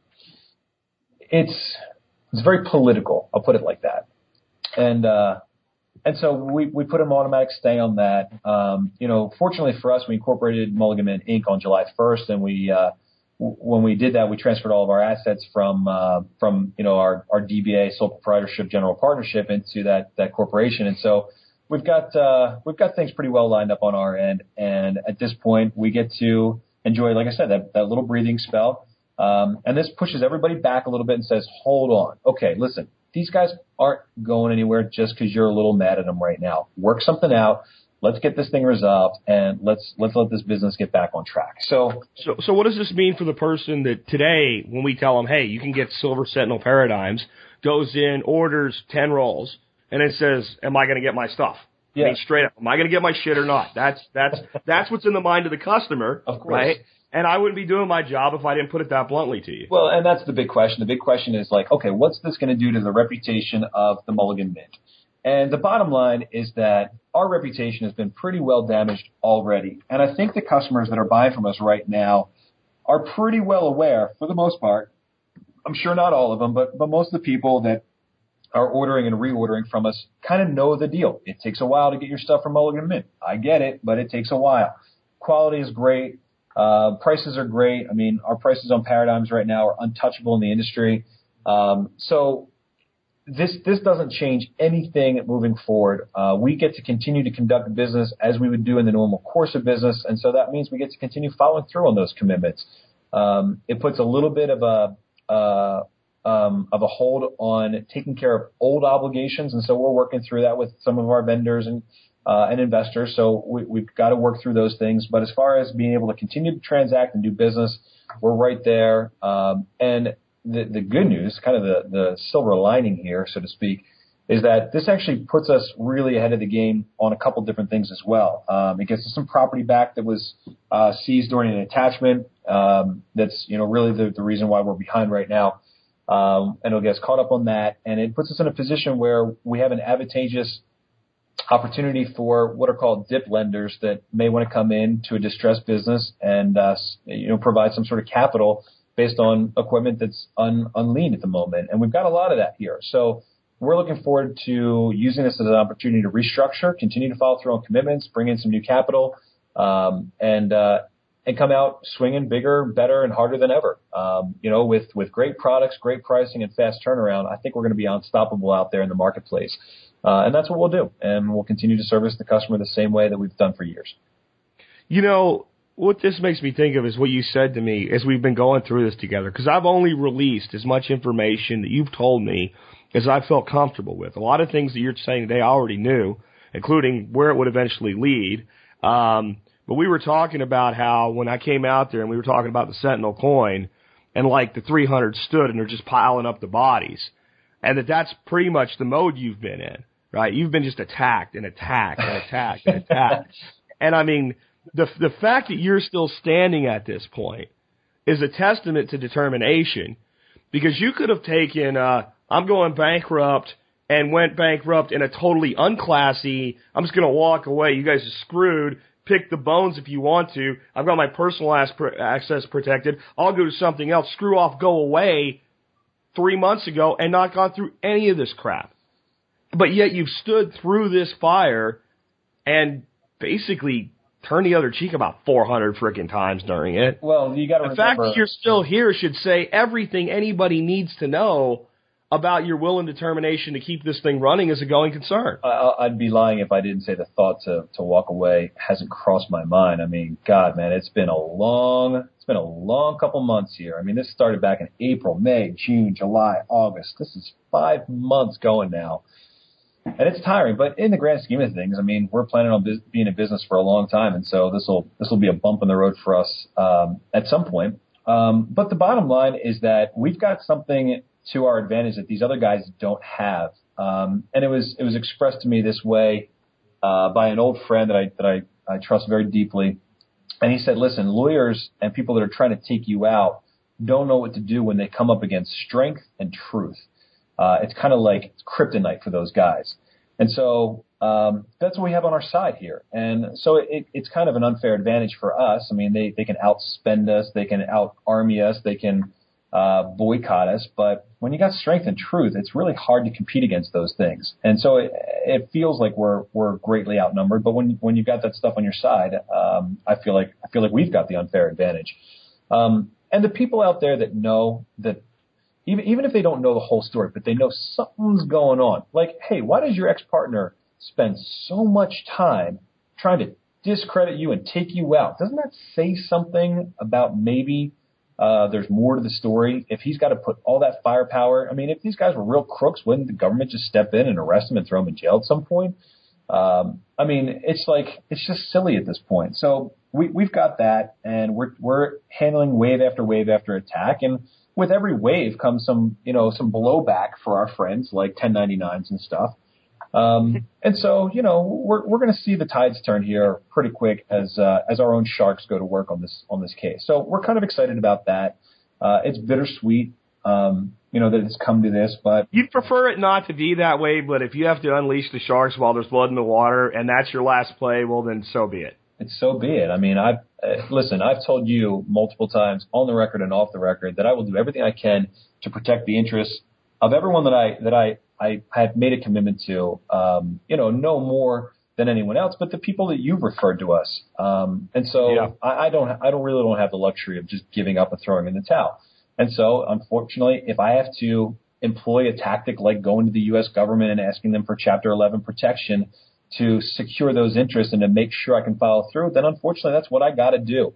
It's it's very political. I'll put it like that, and uh, and so we, we put an automatic stay on that. Um, you know, fortunately for us, we incorporated Mulligan Mint Incorporated on July first, and we uh, w- when we did that, we transferred all of our assets from uh, from you know our, our D B A sole proprietorship general partnership into that that corporation, and so we've got uh, we've got things pretty well lined up on our end, and at this point, we get to enjoy, like I said, that that little breathing spell. Um, and this pushes everybody back a little bit and says, hold on. Okay, listen, these guys aren't going anywhere just because you're a little mad at them right now. Work something out. Let's get this thing resolved, and let's let's let this business get back on track. So, so, so what does this mean for the person that today, when we tell them, hey, you can get Silver Sentinel Paradigms, goes in, orders ten rolls, and it says, am I going to get my stuff? Yeah. I mean, straight up, am I going to get my shit or not? That's that's that's what's in the mind of the customer, of course. Right? And I wouldn't be doing my job if I didn't put it that bluntly to you. Well, and that's the big question. The big question is like, okay, what's this going to do to the reputation of the Mulligan Mint? And the bottom line is that our reputation has been pretty well damaged already. And I think the customers that are buying from us right now are pretty well aware, for the most part. I'm sure not all of them, but, but most of the people that are ordering and reordering from us kind of know the deal. It takes a while to get your stuff from Mulligan Mint. I get it, but it takes a while. Quality is great. Uh, prices are great. I mean, our prices on Paradigms right now are untouchable in the industry. Um, so this this doesn't change anything moving forward. Uh, we get to continue to conduct business as we would do in the normal course of business, and so that means we get to continue following through on those commitments. Um, it puts a little bit of a uh, um, of a hold on taking care of old obligations, and so we're working through that with some of our vendors and Uh, and investors, so we, we've got to work through those things. But as far as being able to continue to transact and do business, we're right there. Um, and the, the good news, kind of the, the silver lining here, so to speak, is that this actually puts us really ahead of the game on a couple different things as well. Um, it gets us some property back that was uh, seized during an attachment. Um, that's you know really the, the reason why we're behind right now. Um, and it'll get us caught up on that, and it puts us in a position where we have an advantageous opportunity for what are called dip lenders that may want to come in to a distressed business and uh, you know provide some sort of capital based on equipment that's un, unleaned at the moment. And we've got a lot of that here. So we're looking forward to using this as an opportunity to restructure, continue to follow through on commitments, bring in some new capital, um, and uh, and come out swinging bigger, better, and harder than ever. Um, you know, with with great products, great pricing, and fast turnaround, I think we're going to be unstoppable out there in the marketplace. Uh, and that's what we'll do. And we'll continue to service the customer the same way that we've done for years. You know, what this makes me think of is what you said to me as we've been going through this together, because I've only released as much information that you've told me as I felt comfortable with. A lot of things that you're saying today I already knew, including where it would eventually lead. Um, but we were talking about how when I came out there and we were talking about the Sentinel coin and like the three hundred stood and they're just piling up the bodies, and that that's pretty much the mode you've been in, right? You've been just attacked and attacked and attacked and attacked. And I mean, the the fact that you're still standing at this point is a testament to determination, because you could have taken, uh, I'm going bankrupt, and went bankrupt in a totally unclassy, I'm just going to walk away, you guys are screwed, pick the bones if you want to. I've got my personal access protected. I'll go to something else. Screw off, go away three months ago and not gone through any of this crap. But yet you've stood through this fire and basically turned the other cheek about four hundred freaking times during it. Well, you got to remember. The fact that you're still here should say everything anybody needs to know about your will and determination to keep this thing running as a going concern. I, I'd be lying if I didn't say the thought to, to walk away hasn't crossed my mind. I mean, God, man, it's been a long, it's been a long couple months here. I mean, this started back in April, May, June, July, August. This is five months going now. And it's tiring, but in the grand scheme of things, I mean, we're planning on biz- being in business for a long time, and so this will this will be a bump in the road for us um, at some point. Um, but the bottom line is that we've got something to our advantage that these other guys don't have, um, and it was it was expressed to me this way uh, by an old friend that I that I, I trust very deeply, and he said, "Listen, lawyers and people that are trying to take you out don't know what to do when they come up against strength and truth." Uh, it's kind of like kryptonite for those guys. And so um, that's what we have on our side here. And so it, it's kind of an unfair advantage for us. I mean, they, they can outspend us. They can out-army us. They can uh, boycott us. But when you got strength and truth, it's really hard to compete against those things. And so it, it feels like we're we're greatly outnumbered. But when when you've got that stuff on your side, um, I feel like I feel like we've got the unfair advantage. Um, and the people out there that know that, Even even if they don't know the whole story, but they know something's going on. Like, hey, why does your ex-partner spend so much time trying to discredit you and take you out? Doesn't that say something about maybe uh, there's more to the story? If he's got to put all that firepower, I mean, if these guys were real crooks, wouldn't the government just step in and arrest them and throw them in jail at some point? Um, I mean, it's like it's just silly at this point. So we, we've got that, and we're we're handling wave after wave after attack, and with every wave comes some, you know, some blowback for our friends like ten ninety-nines and stuff. Um, and so, you know, we're we're going to see the tides turn here pretty quick as uh, as our own sharks go to work on this on this case. So we're kind of excited about that. Uh, it's bittersweet, um, you know, that it's come to this, but you'd prefer it not to be that way. But if you have to unleash the sharks while there's blood in the water, and that's your last play, well, then so be it. It's so be it. I mean, I've uh, listen. I've told you multiple times on the record and off the record that I will do everything I can to protect the interests of everyone that I that I I have made a commitment to. Um, you know, no more than anyone else, but the people that you've referred to us. Um, and so yeah. I, I don't. I don't really don't have the luxury of just giving up and throwing in the towel. And so, unfortunately, if I have to employ a tactic like going to the U S government and asking them for Chapter eleven protection to secure those interests and to make sure I can follow through, then unfortunately that's what I got to do.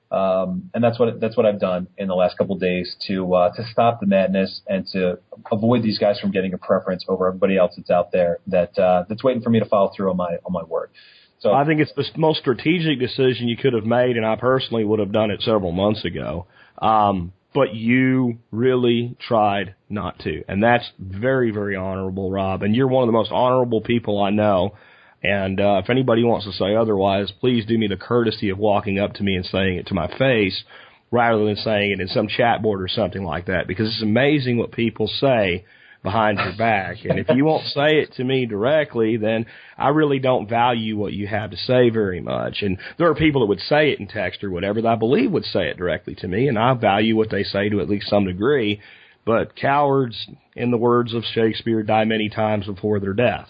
Um, and that's what, that's what I've done in the last couple of days to, uh, to stop the madness and to avoid these guys from getting a preference over everybody else that's out there that, uh, that's waiting for me to follow through on my, on my word. So I think it's the most strategic decision you could have made, and I personally would have done it several months ago. Um, but you really tried not to. And that's very, very honorable, Rob. And you're one of the most honorable people I know. And uh, if anybody wants to say otherwise, please do me the courtesy of walking up to me and saying it to my face rather than saying it in some chat board or something like that, because it's amazing what people say behind your back. And if you won't say it to me directly, then I really don't value what you have to say very much. And there are people that would say it in text or whatever that I believe would say it directly to me, and I value what they say to at least some degree. But cowards, in the words of Shakespeare, die many times before their death.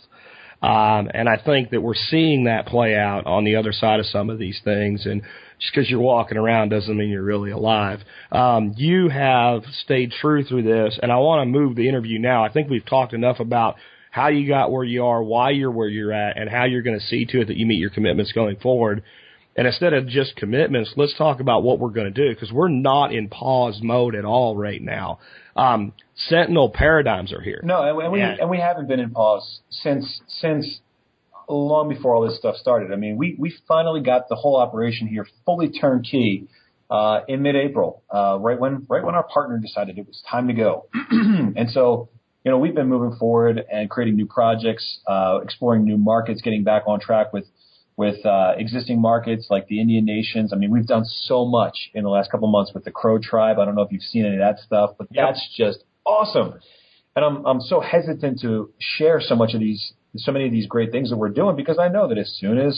Um, and I think that we're seeing that play out on the other side of some of these things. And just because you're walking around doesn't mean you're really alive. Um, you have stayed true through this, and I want to move the interview now. I think we've talked enough about how you got where you are, why you're where you're at, and how you're going to see to it that you meet your commitments going forward. And instead of just commitments, let's talk about what we're going to do, because we're not in pause mode at all right now. Um, Sentinel paradigms are here. No, and, and we and, and we haven't been in pause since since long before all this stuff started. I mean, we we finally got the whole operation here fully turnkey uh, in mid-April, uh, right when right when our partner decided it was time to go. And so, you know, we've been moving forward and creating new projects, uh, exploring new markets, getting back on track with. with uh, existing markets like the Indian nations. I mean, we've done so much in the last couple of months with the Crow tribe. I don't know if you've seen any of that stuff, but yep. That's just awesome. And I'm I'm so hesitant to share so much of these, so many of these great things that we're doing, because I know that as soon as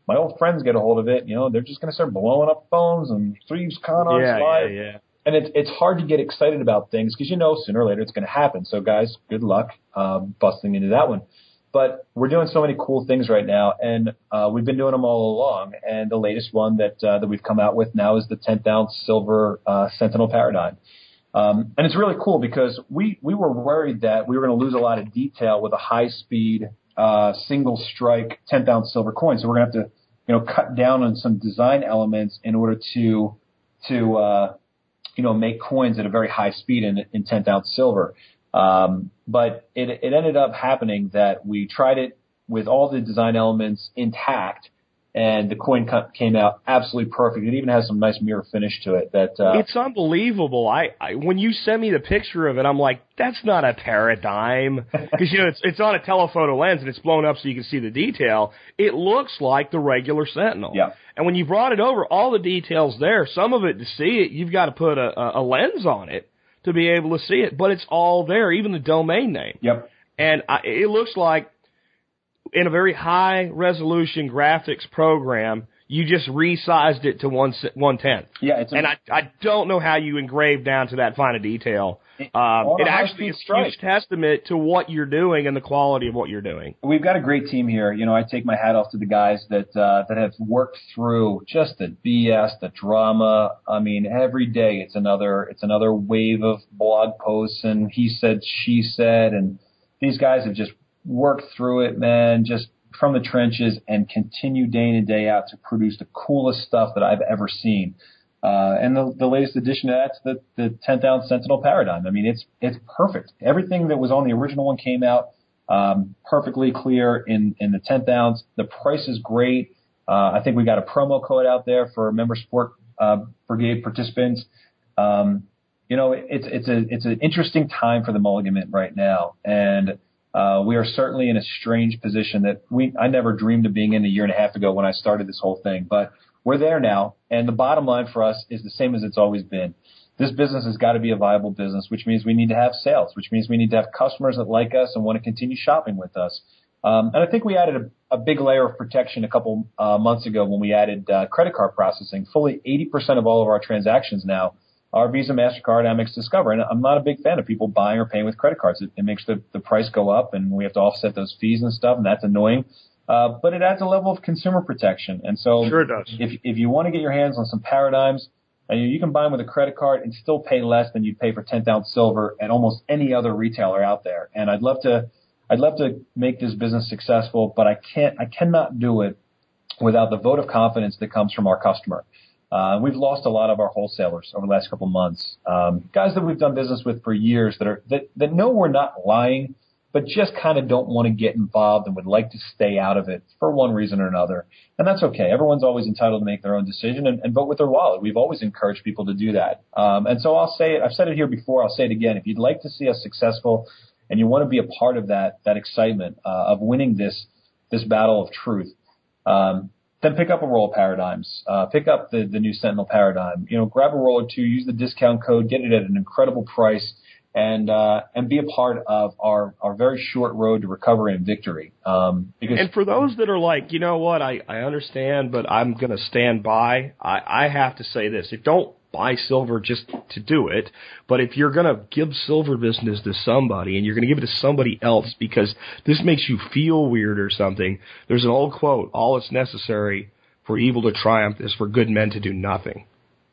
my old friends get a hold of it, you know, they're just going to start blowing up phones and Thieves Con Arts yeah, Live. Yeah, yeah. And it's it's hard to get excited about things because you know sooner or later it's going to happen. So guys, good luck um, busting into that one. But we're doing so many cool things right now, and uh, we've been doing them all along. And the latest one that uh, that we've come out with now is the tenth ounce silver uh, Sentinel Paradigm. Um, and it's really cool because we, we were worried that we were going to lose a lot of detail with a high-speed uh, single-strike tenth ounce silver coin. So we're going to have to, you know, cut down on some design elements in order to to uh, you know make coins at a very high speed in in tenth ounce silver. Um, but it, it ended up happening that we tried it with all the design elements intact, and the coin came out absolutely perfect. It even has some nice mirror finish to it. That uh, it's unbelievable. I, I when you send me the picture of it, I'm like, that's not a Paradigm, because you know it's it's on a telephoto lens and it's blown up so you can see the detail. It looks like the regular Sentinel. Yeah. And when you brought it over, all the details there. Some of it to see it, you've got to put a, a lens on it to be able to see it, but it's all there, even the domain name. Yep. And I, it looks like in a very high-resolution graphics program, you just resized it to one one tenth. Yeah, it's a, and I I don't know how you engraved down to that fine a detail. Um, it actually is a huge testament to what you're doing and the quality of what you're doing. We've got a great team here. You know, I take my hat off to the guys that uh, that have worked through just the B S, the drama. I mean, every day it's another it's another wave of blog posts and he said, she said, and these guys have just worked through it, man, just from the trenches and continue day in and day out to produce the coolest stuff that I've ever seen. Uh, and the, the latest addition to that's the, the tenth ounce Sentinel Paradigm. I mean, it's, it's perfect. Everything that was on the original one came out, um, perfectly clear in, in the tenth ounce. The price is great. Uh, I think we got a promo code out there for member sport, uh, brigade participants. Um, you know, it's, it's a, it's an interesting time for the Mulligan Mint right now. And, Uh, we are certainly in a strange position that we I never dreamed of being in a year and a half ago when I started this whole thing. But we're there now, and the bottom line for us is the same as it's always been. This business has got to be a viable business, which means we need to have sales, which means we need to have customers that like us and want to continue shopping with us. Um, and I think we added a, a big layer of protection a couple uh, months ago when we added uh, credit card processing. Fully eighty percent of all of our transactions now are Visa, MasterCard, Amex, Discover. And I'm not a big fan of people buying or paying with credit cards. It, it makes the, the price go up, and we have to offset those fees and stuff, and that's annoying. Uh, but it adds a level of consumer protection. And so sure it does. if if you want to get your hands on some Paradigms, and you, you can buy them with a credit card and still pay less than you'd pay for tenth ounce silver at almost any other retailer out there. And I'd love to I'd love to make this business successful, but I can't I cannot do it without the vote of confidence that comes from our customer. Uh, we've lost a lot of our wholesalers over the last couple of months. Um, guys that we've done business with for years that are, that, that know we're not lying, but just kind of don't want to get involved and would like to stay out of it for one reason or another. And that's okay. Everyone's always entitled to make their own decision and, and vote with their wallet. We've always encouraged people to do that. Um, and so I'll say it, I've said it here before, I'll say it again. If you'd like to see us successful and you want to be a part of that, that excitement, uh, of winning this, this battle of truth, um, then pick up a roll of Paradigms. Uh, pick up the, the new Sentinel Paradigm. You know, grab a roll or two, use the discount code, get it at an incredible price, and uh, and be a part of our, our very short road to recovery and victory. Um, because and for those that are like, you know what, I, I understand, but I'm going to stand by, I, I have to say this. If don't buy silver just to do it, but if you're going to give silver business to somebody and you're going to give it to somebody else because this makes you feel weird or something, there's an old quote, all that's necessary for evil to triumph is for good men to do nothing.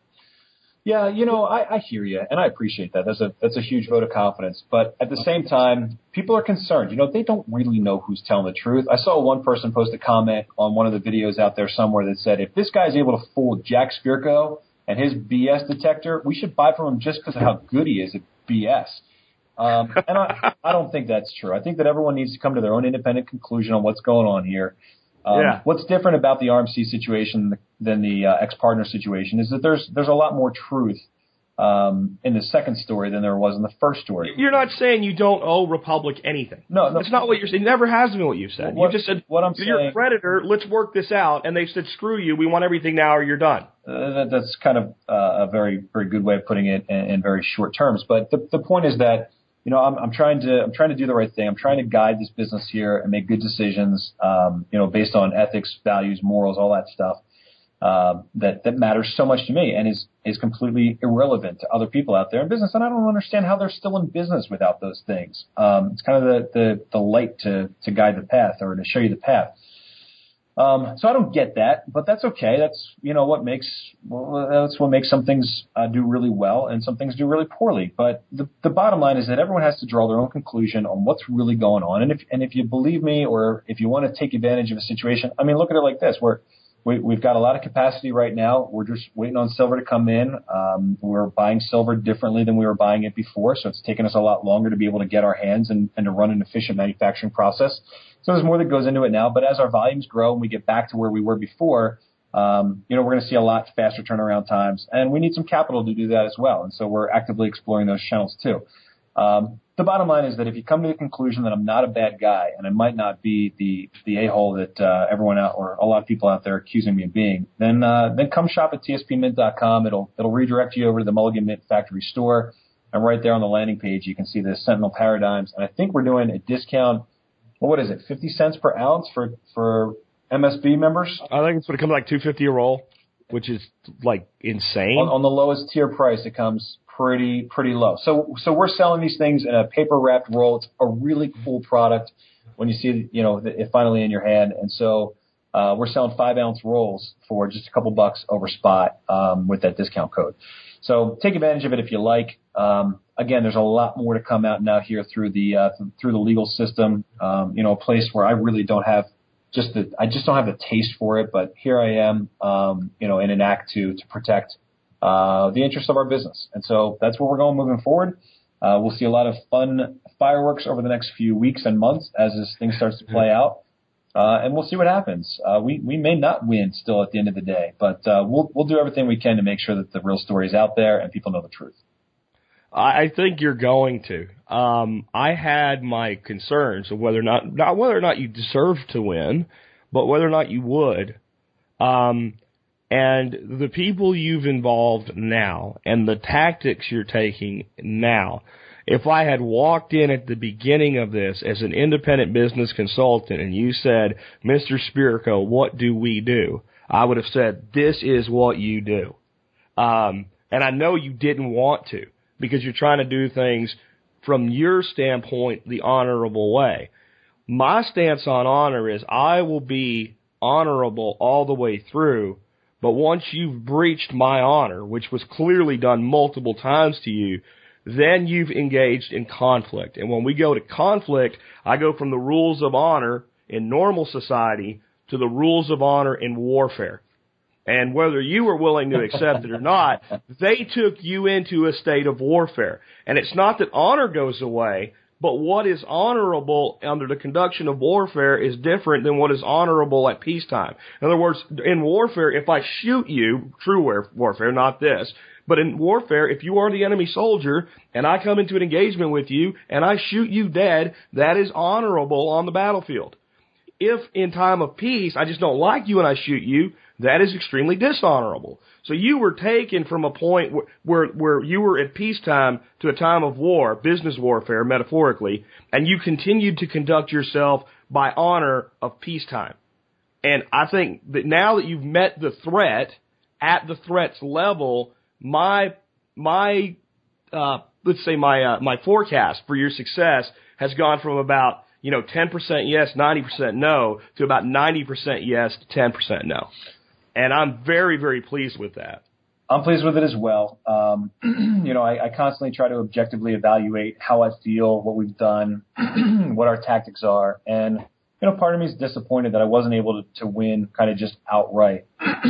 Yeah, you know, I, I hear you, and I appreciate that. That's a that's a huge vote of confidence. But at the same time, people are concerned. You know, they don't really know who's telling the truth. I saw one person post a comment on one of the videos out there somewhere that said, if this guy's able to fool Jack Spirko and his B S detector, we should buy from him just because of how good he is at B S. Um, and I, I don't think that's true. I think that everyone needs to come to their own independent conclusion on what's going on here. Um, yeah. What's different about the R M C situation than the uh, ex-partner situation is that there's there's a lot more truth um, in the second story than there was in the first story. You're not saying you don't owe Republic anything. No, no. It's not what you're saying. It never has been what you said. What, you just said, what I'm you're saying, a predator, let's work this out. And they said, screw you, we want everything now or you're done. Uh, that, that's kind of uh, a very, very good way of putting it in, in very short terms. But the, the point is that, you know, I'm, I'm trying to, I'm trying to do the right thing. I'm trying to guide this business here and make good decisions, um, you know, based on ethics, values, morals, all that stuff, um, that, that matters so much to me and is, is completely irrelevant to other people out there in business. And I don't understand how they're still in business without those things. Um, it's kind of the, the, the light to, to guide the path or to show you the path. Um, so I don't get that, but that's okay. That's, you know, what makes, well, that's what makes some things uh, do really well and some things do really poorly. But the, the bottom line is that everyone has to draw their own conclusion on what's really going on. And if, and if you believe me, or if you want to take advantage of a situation, I mean, look at it like this. We're, we, we've got a lot of capacity right now. We're just waiting on silver to come in. Um, we're buying silver differently than we were buying it before. So it's taken us a lot longer to be able to get our hands and, and to run an efficient manufacturing process. So there's more that goes into it now, but as our volumes grow and we get back to where we were before, um, you know, we're going to see a lot faster turnaround times, and we need some capital to do that as well. And so we're actively exploring those channels too. Um, the bottom line is that if you come to the conclusion that I'm not a bad guy and I might not be the, the a-hole that, uh, everyone out or a lot of people out there are accusing me of being, then, uh, then come shop at T S P mint dot com. It'll, it'll redirect you over to the Mulligan Mint Factory store. And right there on the landing page, you can see the Sentinel Paradigms. And I think we're doing a discount. Well, what is it? fifty cents per ounce for, for M S B members? I think it's going to come like two fifty a roll, which is like insane. On, on the lowest tier price, it comes pretty, pretty low. So, so we're selling these things in a paper wrapped roll. It's a really cool product when you see, you know, it finally in your hand. And so, uh, we're selling five ounce rolls for just a couple bucks over spot, um, with that discount code. So take advantage of it if you like. Um, again, there's a lot more to come out now here through the, uh, th- through the legal system. Um, you know, a place where I really don't have just the, I just don't have the taste for it, but here I am, um, you know, in an act to, to protect, uh, the interests of our business. And so that's where we're going moving forward. Uh, we'll see a lot of fun fireworks over the next few weeks and months as this thing starts to play out. Uh, and we'll see what happens. Uh, we, we may not win still at the end of the day, but, uh, we'll, we'll do everything we can to make sure that the real story is out there and people know the truth. I think you're going to. Um, I had my concerns of whether or not, not whether or not you deserve to win, but whether or not you would. Um, and the people you've involved now and the tactics you're taking now, if I had walked in at the beginning of this as an independent business consultant and you said, Mister Spirko, what do we do? I would have said, this is what you do. Um, and I know you didn't want to because you're trying to do things from your standpoint the honorable way. My stance on honor is I will be honorable all the way through, but once you've breached my honor, which was clearly done multiple times to you, then you've engaged in conflict. And when we go to conflict, I go from the rules of honor in normal society to the rules of honor in warfare. And whether you were willing to accept it or not, they took you into a state of warfare. And it's not that honor goes away, but what is honorable under the conduction of warfare is different than what is honorable at peacetime. In other words, in warfare, if I shoot you, true warfare, not this, but in warfare, if you are the enemy soldier and I come into an engagement with you and I shoot you dead, that is honorable on the battlefield. If in time of peace I just don't like you and I shoot you, that is extremely dishonorable. So you were taken from a point where, where, where you were at peacetime to a time of war, business warfare, metaphorically, and you continued to conduct yourself by honor of peacetime. And I think that now that you've met the threat at the threat's level, my, my, uh, let's say my, uh, my forecast for your success has gone from about, you know, ten percent yes, ninety percent no, to about ninety percent yes to ten percent no. And I'm very, very pleased with that. I'm pleased with it as well. Um, you know, I, I constantly try to objectively evaluate how I feel, what we've done, what our tactics are. And, you know, part of me is disappointed that I wasn't able to, to win kind of just outright.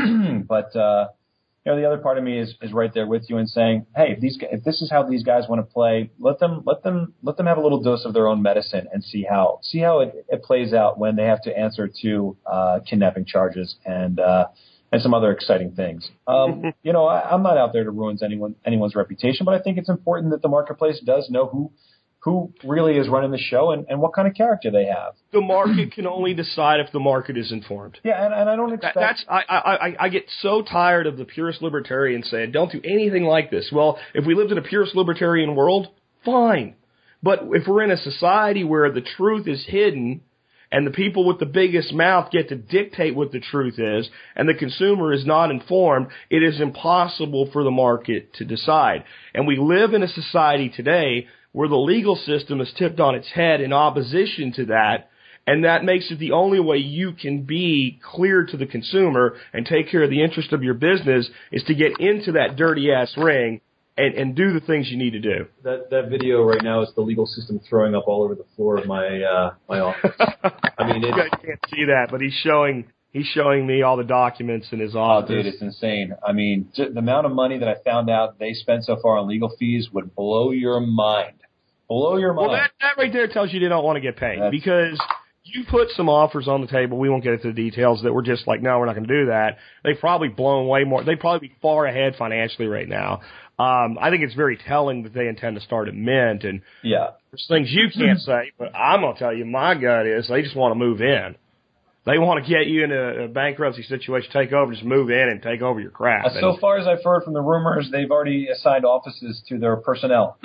But, uh, you know, the other part of me is, is right there with you and saying, hey, if these, if this is how these guys want to play, let them, let them, let them have a little dose of their own medicine and see how, see how it, it plays out when they have to answer to, uh, kidnapping charges and, uh, and some other exciting things. Um, you know, I, I'm not out there to ruin anyone, anyone's reputation, but I think it's important that the marketplace does know who, who really is running the show and, and what kind of character they have. The market can only decide if the market is informed. Yeah, and, and I don't expect... That's, I, I, I get so tired of the purist libertarians saying, don't do anything like this. Well, if we lived in a purist libertarian world, fine. But if we're in a society where the truth is hidden and the people with the biggest mouth get to dictate what the truth is and the consumer is not informed, it is impossible for the market to decide. And we live in a society today where the legal system is tipped on its head in opposition to that, and that makes it the only way you can be clear to the consumer and take care of the interest of your business is to get into that dirty-ass ring and, and do the things you need to do. That that video right now is the legal system throwing up all over the floor of my uh, my office. I mean, you guys can't see that, but he's showing he's showing me all the documents in his office. Oh, dude, it's insane. I mean, j- the amount of money that I found out they spent so far on legal fees would blow your mind. Blow your mind. Well, that, that right there tells you they don't want to get paid That's, because you put some offers on the table. We won't get into the details that we're just like, no, we're not going to do that. They've probably blown way more. They'd probably be far ahead financially right now. Um, I think it's very telling that they intend to start a mint, and yeah. there's things you can't say, but I'm going to tell you my gut is they just want to move in. They want to get you in a, a bankruptcy situation, take over, just move in and take over your crap. Uh, so far as I've heard from the rumors, they've already assigned offices to their personnel.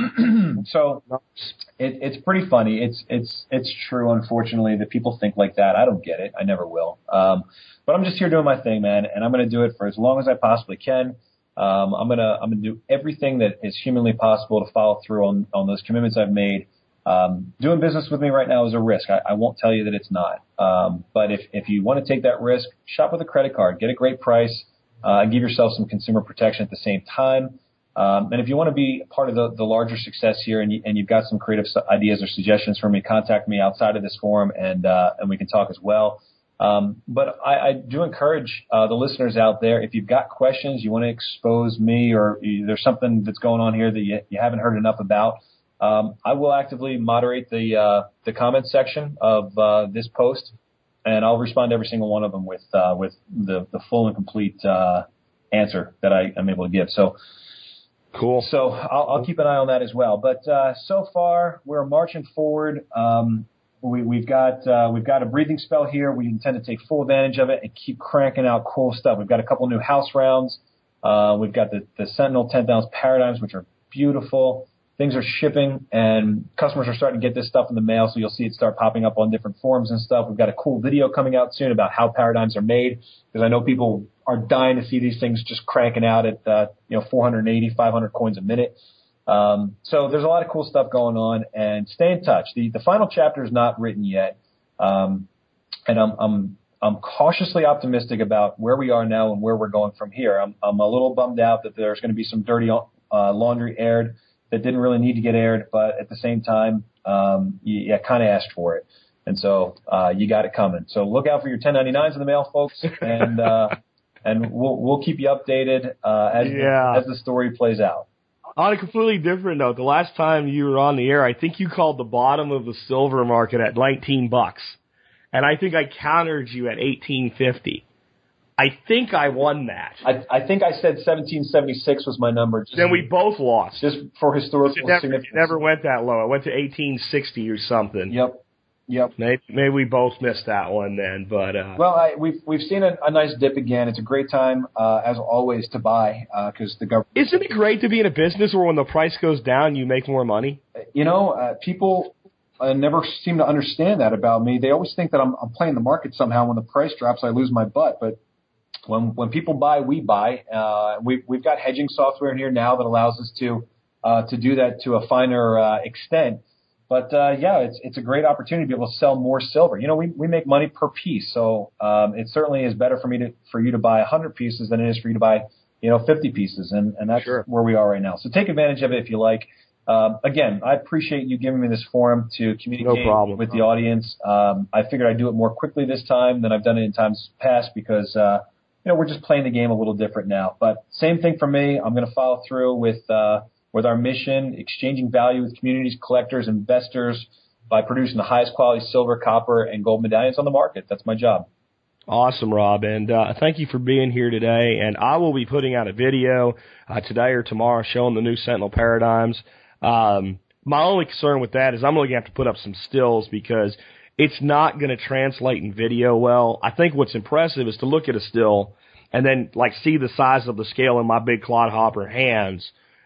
So it, it's pretty funny. It's it's it's true, unfortunately, that people think like that. I don't get it. I never will. Um, but I'm just here doing my thing, man, and I'm going to do it for as long as I possibly can. Um, I'm gonna I'm gonna do everything that is humanly possible to follow through on on those commitments I've made. Um, doing business with me right now is a risk. I, I won't tell you that it's not. Um, but if, if you want to take that risk, shop with a credit card, get a great price, uh, and give yourself some consumer protection at the same time. Um, and if you want to be part of the, the larger success here and, you, and you've got some creative ideas or suggestions for me, contact me outside of this forum and, uh, and we can talk as well. Um, but I, I do encourage, uh, the listeners out there, if you've got questions, you want to expose me or you, there's something that's going on here that you, you haven't heard enough about, Um, I will actively moderate the uh, the comment section of uh, this post, and I'll respond to every single one of them with uh, with the, the full and complete uh, answer that I am able to give. So, cool. So I'll, I'll keep an eye on that as well. But uh, so far, we're marching forward. Um, we, we've got uh, we've got a breathing spell here. We intend to take full advantage of it and keep cranking out cool stuff. We've got a couple new house rounds. Uh, we've got the, the Sentinel ten thousand Paradigms, which are beautiful. Things are shipping, and customers are starting to get this stuff in the mail, so you'll see it start popping up on different forums and stuff. We've got a cool video coming out soon about how paradigms are made, because I know people are dying to see these things just cranking out at uh, you know four eighty, five hundred coins a minute. Um, so there's a lot of cool stuff going on, and stay in touch. The the final chapter is not written yet, um, and I'm I'm I'm cautiously optimistic about where we are now and where we're going from here. I'm I'm a little bummed out that there's going to be some dirty uh, laundry aired that didn't really need to get aired, but at the same time, um, you, you kind of asked for it. And so, uh, you got it coming. So look out for your ten ninety-nines in the mail, folks, and, uh, and we'll, we'll keep you updated, uh, as, yeah. the, as the story plays out. On a completely different note, the last time you were on the air, I think you called the bottom of the silver market at nineteen bucks. And I think I countered you at eighteen fifty. I think I won that. I, I think I said seventeen seventy-six was my number. Just, then we both lost. Just for historical it never, significance. It never went that low. It went to eighteen sixty or something. Yep. Yep. Maybe, maybe we both missed that one then, but uh, well, I, we've we've seen a, a nice dip again. It's a great time, uh, as always, to buy because uh, the government. Isn't it great to be in a business where when the price goes down, you make more money? You know, uh, people uh, never seem to understand that about me. They always think that I'm, I'm playing the market somehow. When the price drops, I lose my butt, but. When when people buy, we buy. Uh, we, we've got hedging software in here now that allows us to uh, to do that to a finer uh, extent. But uh, yeah, it's it's a great opportunity to be able to sell more silver. You know, we, we make money per piece, so um, it certainly is better for me to for you to buy one hundred pieces than it is for you to buy you know fifty pieces, and and that's sure. where we are right now. So take advantage of it if you like. Um, again, I appreciate you giving me this forum to communicate no problem, with bro. the audience. Um, I figured I'd do it more quickly this time than I've done it in times past because. Uh, You know, we're just playing the game a little different now. But same thing for me. I'm going to follow through with uh, with our mission, exchanging value with communities, collectors, investors by producing the highest quality silver, copper, and gold medallions on the market. That's my job. Awesome, Rob. And uh, thank you for being here today. And I will be putting out a video uh, today or tomorrow showing the new Sentinel Paradigms. Um, my only concern with that is I'm going to have to put up some stills because it's not going to translate in video well. I think what's impressive is to look at a still and then like see the size of the scale in my big clodhopper hands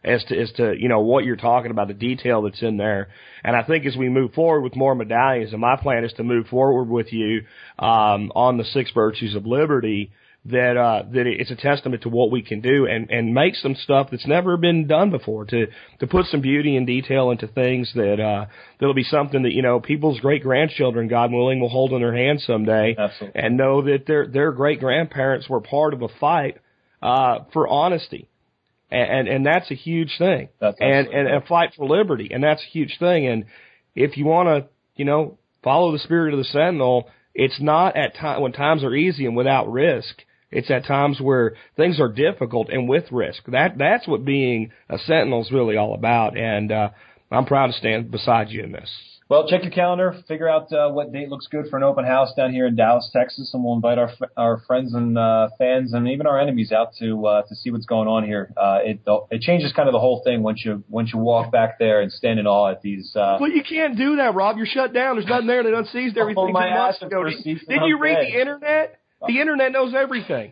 as to, as to, you know, what you're talking about, the detail that's in there. And I think as we move forward with more medallions, and my plan is to move forward with you, um, on the six virtues of liberty, that, uh, that it's a testament to what we can do and, and make some stuff that's never been done before, to, to put some beauty and detail into things that, uh, that'll be something that, you know, people's great grandchildren, God willing, will hold in their hands someday. Absolutely. And know that their, their great grandparents were part of a fight, uh, for honesty. And, and, and that's a huge thing. That's and, and a fight for liberty. And that's a huge thing. And if you want to, you know, follow the spirit of the Sentinel, it's not at time when times are easy and without risk. It's at times where things are difficult and with risk. That that's what being a Sentinel is really all about. And uh, I'm proud to stand beside you in this. Well, check your calendar, figure out uh, what date looks good for an open house down here in Dallas, Texas, and we'll invite our our friends and uh, fans and even our enemies out to uh, to see what's going on here. Uh, it it changes kind of the whole thing once you once you walk back there and stand in awe at these. Uh, well, you can't do that, Rob. You're shut down. There's nothing there that unseized everything. Oh, my two months ass ago. for Did, seats did and you I'm read dead. the internet? The internet knows everything.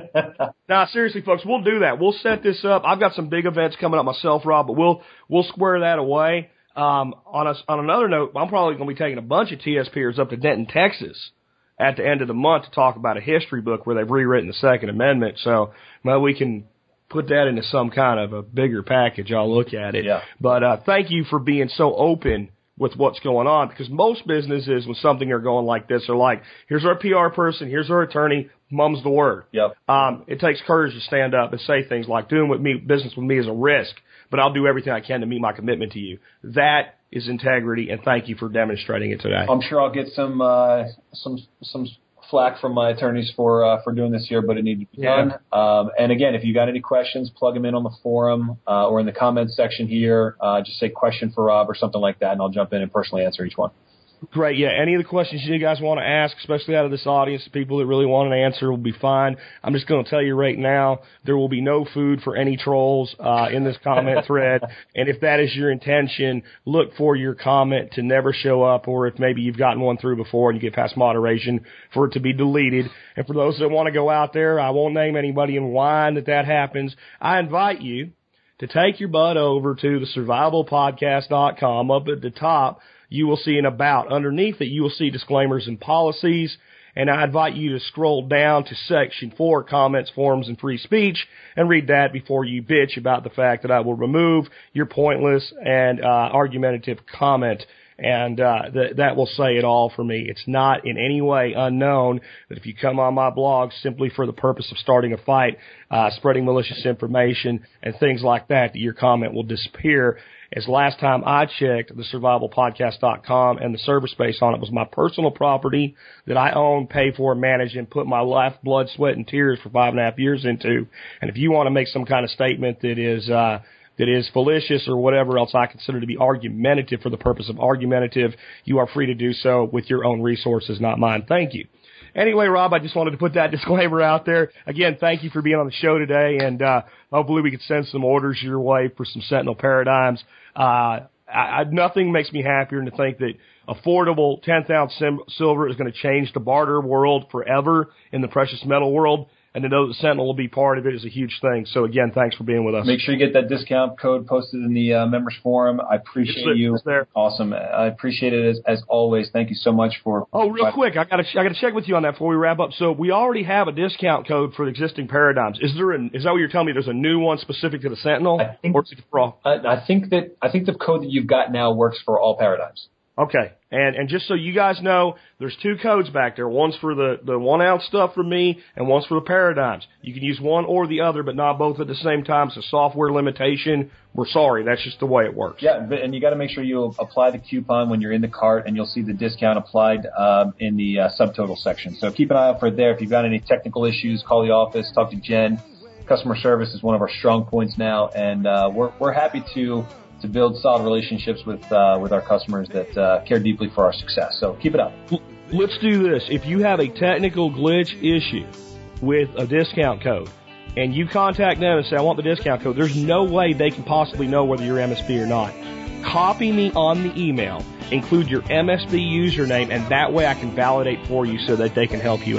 Nah, seriously, folks, we'll do that. We'll set this up. I've got some big events coming up myself, Rob, but we'll we'll square that away. Um, on a, on another note, I'm probably going to be taking a bunch of T S Pers up to Denton, Texas, at the end of the month to talk about a history book where they've rewritten the Second Amendment. So, well, we can put that into some kind of a bigger package. I'll look at it. Yeah. But uh, thank you for being so open with what's going on, because most businesses, when something are going like this, are like, here's our P R person, here's our attorney, mum's the word. Yep. Um, it takes courage to stand up and say things like, doing with me, business with me is a risk, but I'll do everything I can to meet my commitment to you. That is integrity, and thank you for demonstrating it today. I'm sure I'll get some uh, some some flack from my attorneys for uh, for doing this here, but it needed to be Yeah. done. Um, and again, if you got any questions, plug them in on the forum uh, or in the comments section here. Uh, just say question for Rob or something like that, and I'll jump in and personally answer each one. Great, yeah. Any of the questions you guys want to ask, especially out of this audience, people that really want an answer will be fine. I'm just going to tell you right now, there will be no food for any trolls uh, in this comment thread. And if that is your intention, look for your comment to never show up, or if maybe you've gotten one through before and you get past moderation, for it to be deleted. And for those that want to go out there, I won't name anybody and whine that that happens. I invite you to take your butt over to the survival podcast dot com. Up at the top, you will see an about. Underneath it, you will see disclaimers and policies. And I invite you to scroll down to section four, comments, forums, and free speech, and read that before you bitch about the fact that I will remove your pointless and uh, argumentative comment. And uh, th- that will say it all for me. It's not in any way unknown that if you come on my blog simply for the purpose of starting a fight, uh, spreading malicious information, and things like that, that your comment will disappear. As last time I checked, the survival podcast dot com and the server space on it was my personal property that I own, pay for, manage, and put my life, blood, sweat, and tears for five and a half years into. And if you want to make some kind of statement that is uh, that is fallacious or whatever else I consider to be argumentative for the purpose of argumentative, you are free to do so with your own resources, not mine. Thank you. Anyway, Rob, I just wanted to put that disclaimer out there. Again, thank you for being on the show today, and uh, hopefully we could send some orders your way for some Sentinel paradigms. Uh, I, I, nothing makes me happier than to think that affordable tenth ounce sim- silver is going to change the barter world forever in the precious metal world. And to know that Sentinel will be part of it is a huge thing. So, again, thanks for being with us. Make sure you get that discount code posted in the uh, members forum. I appreciate It's you. there. Awesome. I appreciate it as, as always. Thank you so much for. Oh, real quick, I got to I got to check with you on that before we wrap up. So we already have a discount code for the existing paradigms. Is there? A, is that what you're telling me? There's a new one specific to the Sentinel, I think- or is it for all? I, I think that I think the code that you've got now works for all paradigms. Okay, and and just so you guys know, there's two codes back there. One's for the, the one ounce stuff from me, and one's for the paradigms. You can use one or the other, but not both at the same time. It's a software limitation. We're sorry, that's just the way it works. Yeah, but, and you got to make sure you apply the coupon when you're in the cart, and you'll see the discount applied um, in the uh, subtotal section. So keep an eye out for it there. If you've got any technical issues, call the office, talk to Jen. Customer service is one of our strong points now, and uh, we're we're happy to. to build solid relationships with uh, with our customers that uh, care deeply for our success. So keep it up. Let's do this. If you have a technical glitch issue with a discount code, and you contact them and say, I want the discount code, there's no way they can possibly know whether you're M S B or not. Copy me on the email, include your M S B username, and that way I can validate for you so that they can help you out.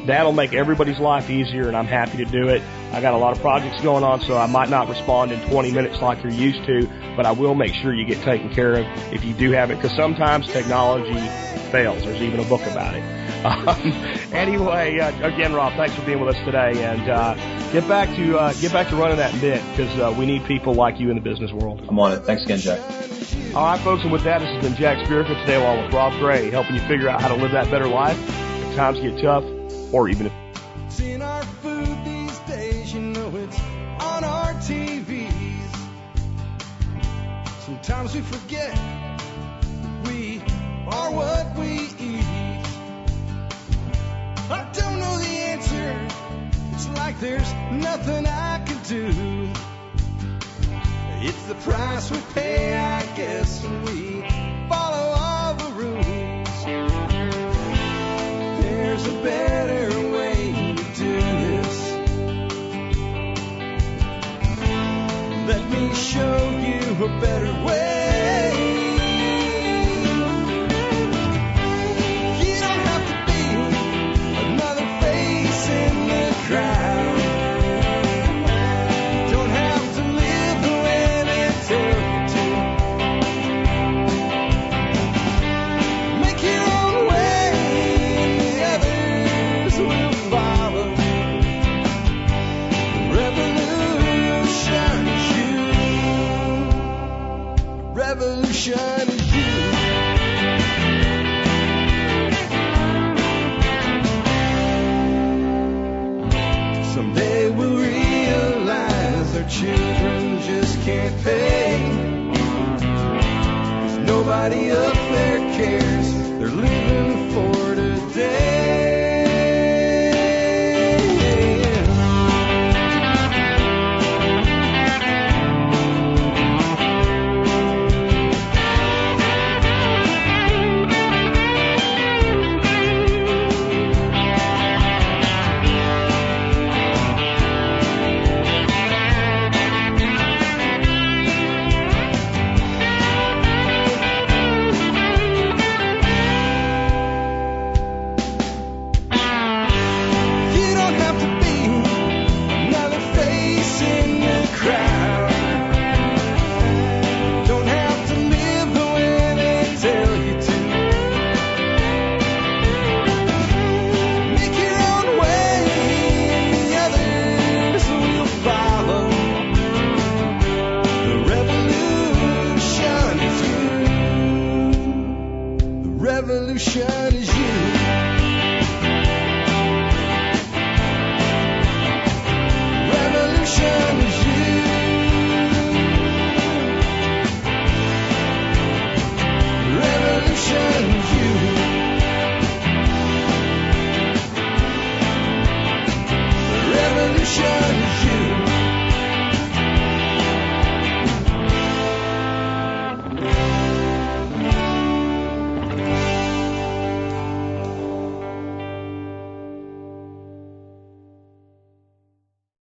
That'll make everybody's life easier, and I'm happy to do it. I got a lot of projects going on, so I might not respond in twenty minutes like you're used to, but I will make sure you get taken care of if you do have it, because sometimes technology fails. There's even a book about it. Um, anyway, uh, again, Rob, thanks for being with us today, and uh, get back to uh, get back to running that bit, because uh, we need people like you in the business world. I'm on it. Thanks again, Jack. All right, folks, and with that, this has been Jack Spirka today, along with Rob Gray, helping you figure out how to live that better life if times get tough, or even if. It's in our food these days, you know it's on our T Vs. Sometimes we forget we are what we eat. I don't know the answer. It's like there's nothing I can do. It's the price we pay, I guess, when we follow all the rules. There's a better way to do this. Let me show you a better way. You don't have to be another face in the crowd. Don't have to live the way they tell you to. Make your own way, and the others will follow. The revolution is you. The revolution is you. Someday we'll realize our children just can't pay. 'Cause nobody up there cares. They're living for today. You don't have to be another face in the crowd. Don't have to live the way they tell you to. Make your own way, and the others will follow. The revolution is you. The revolution is you.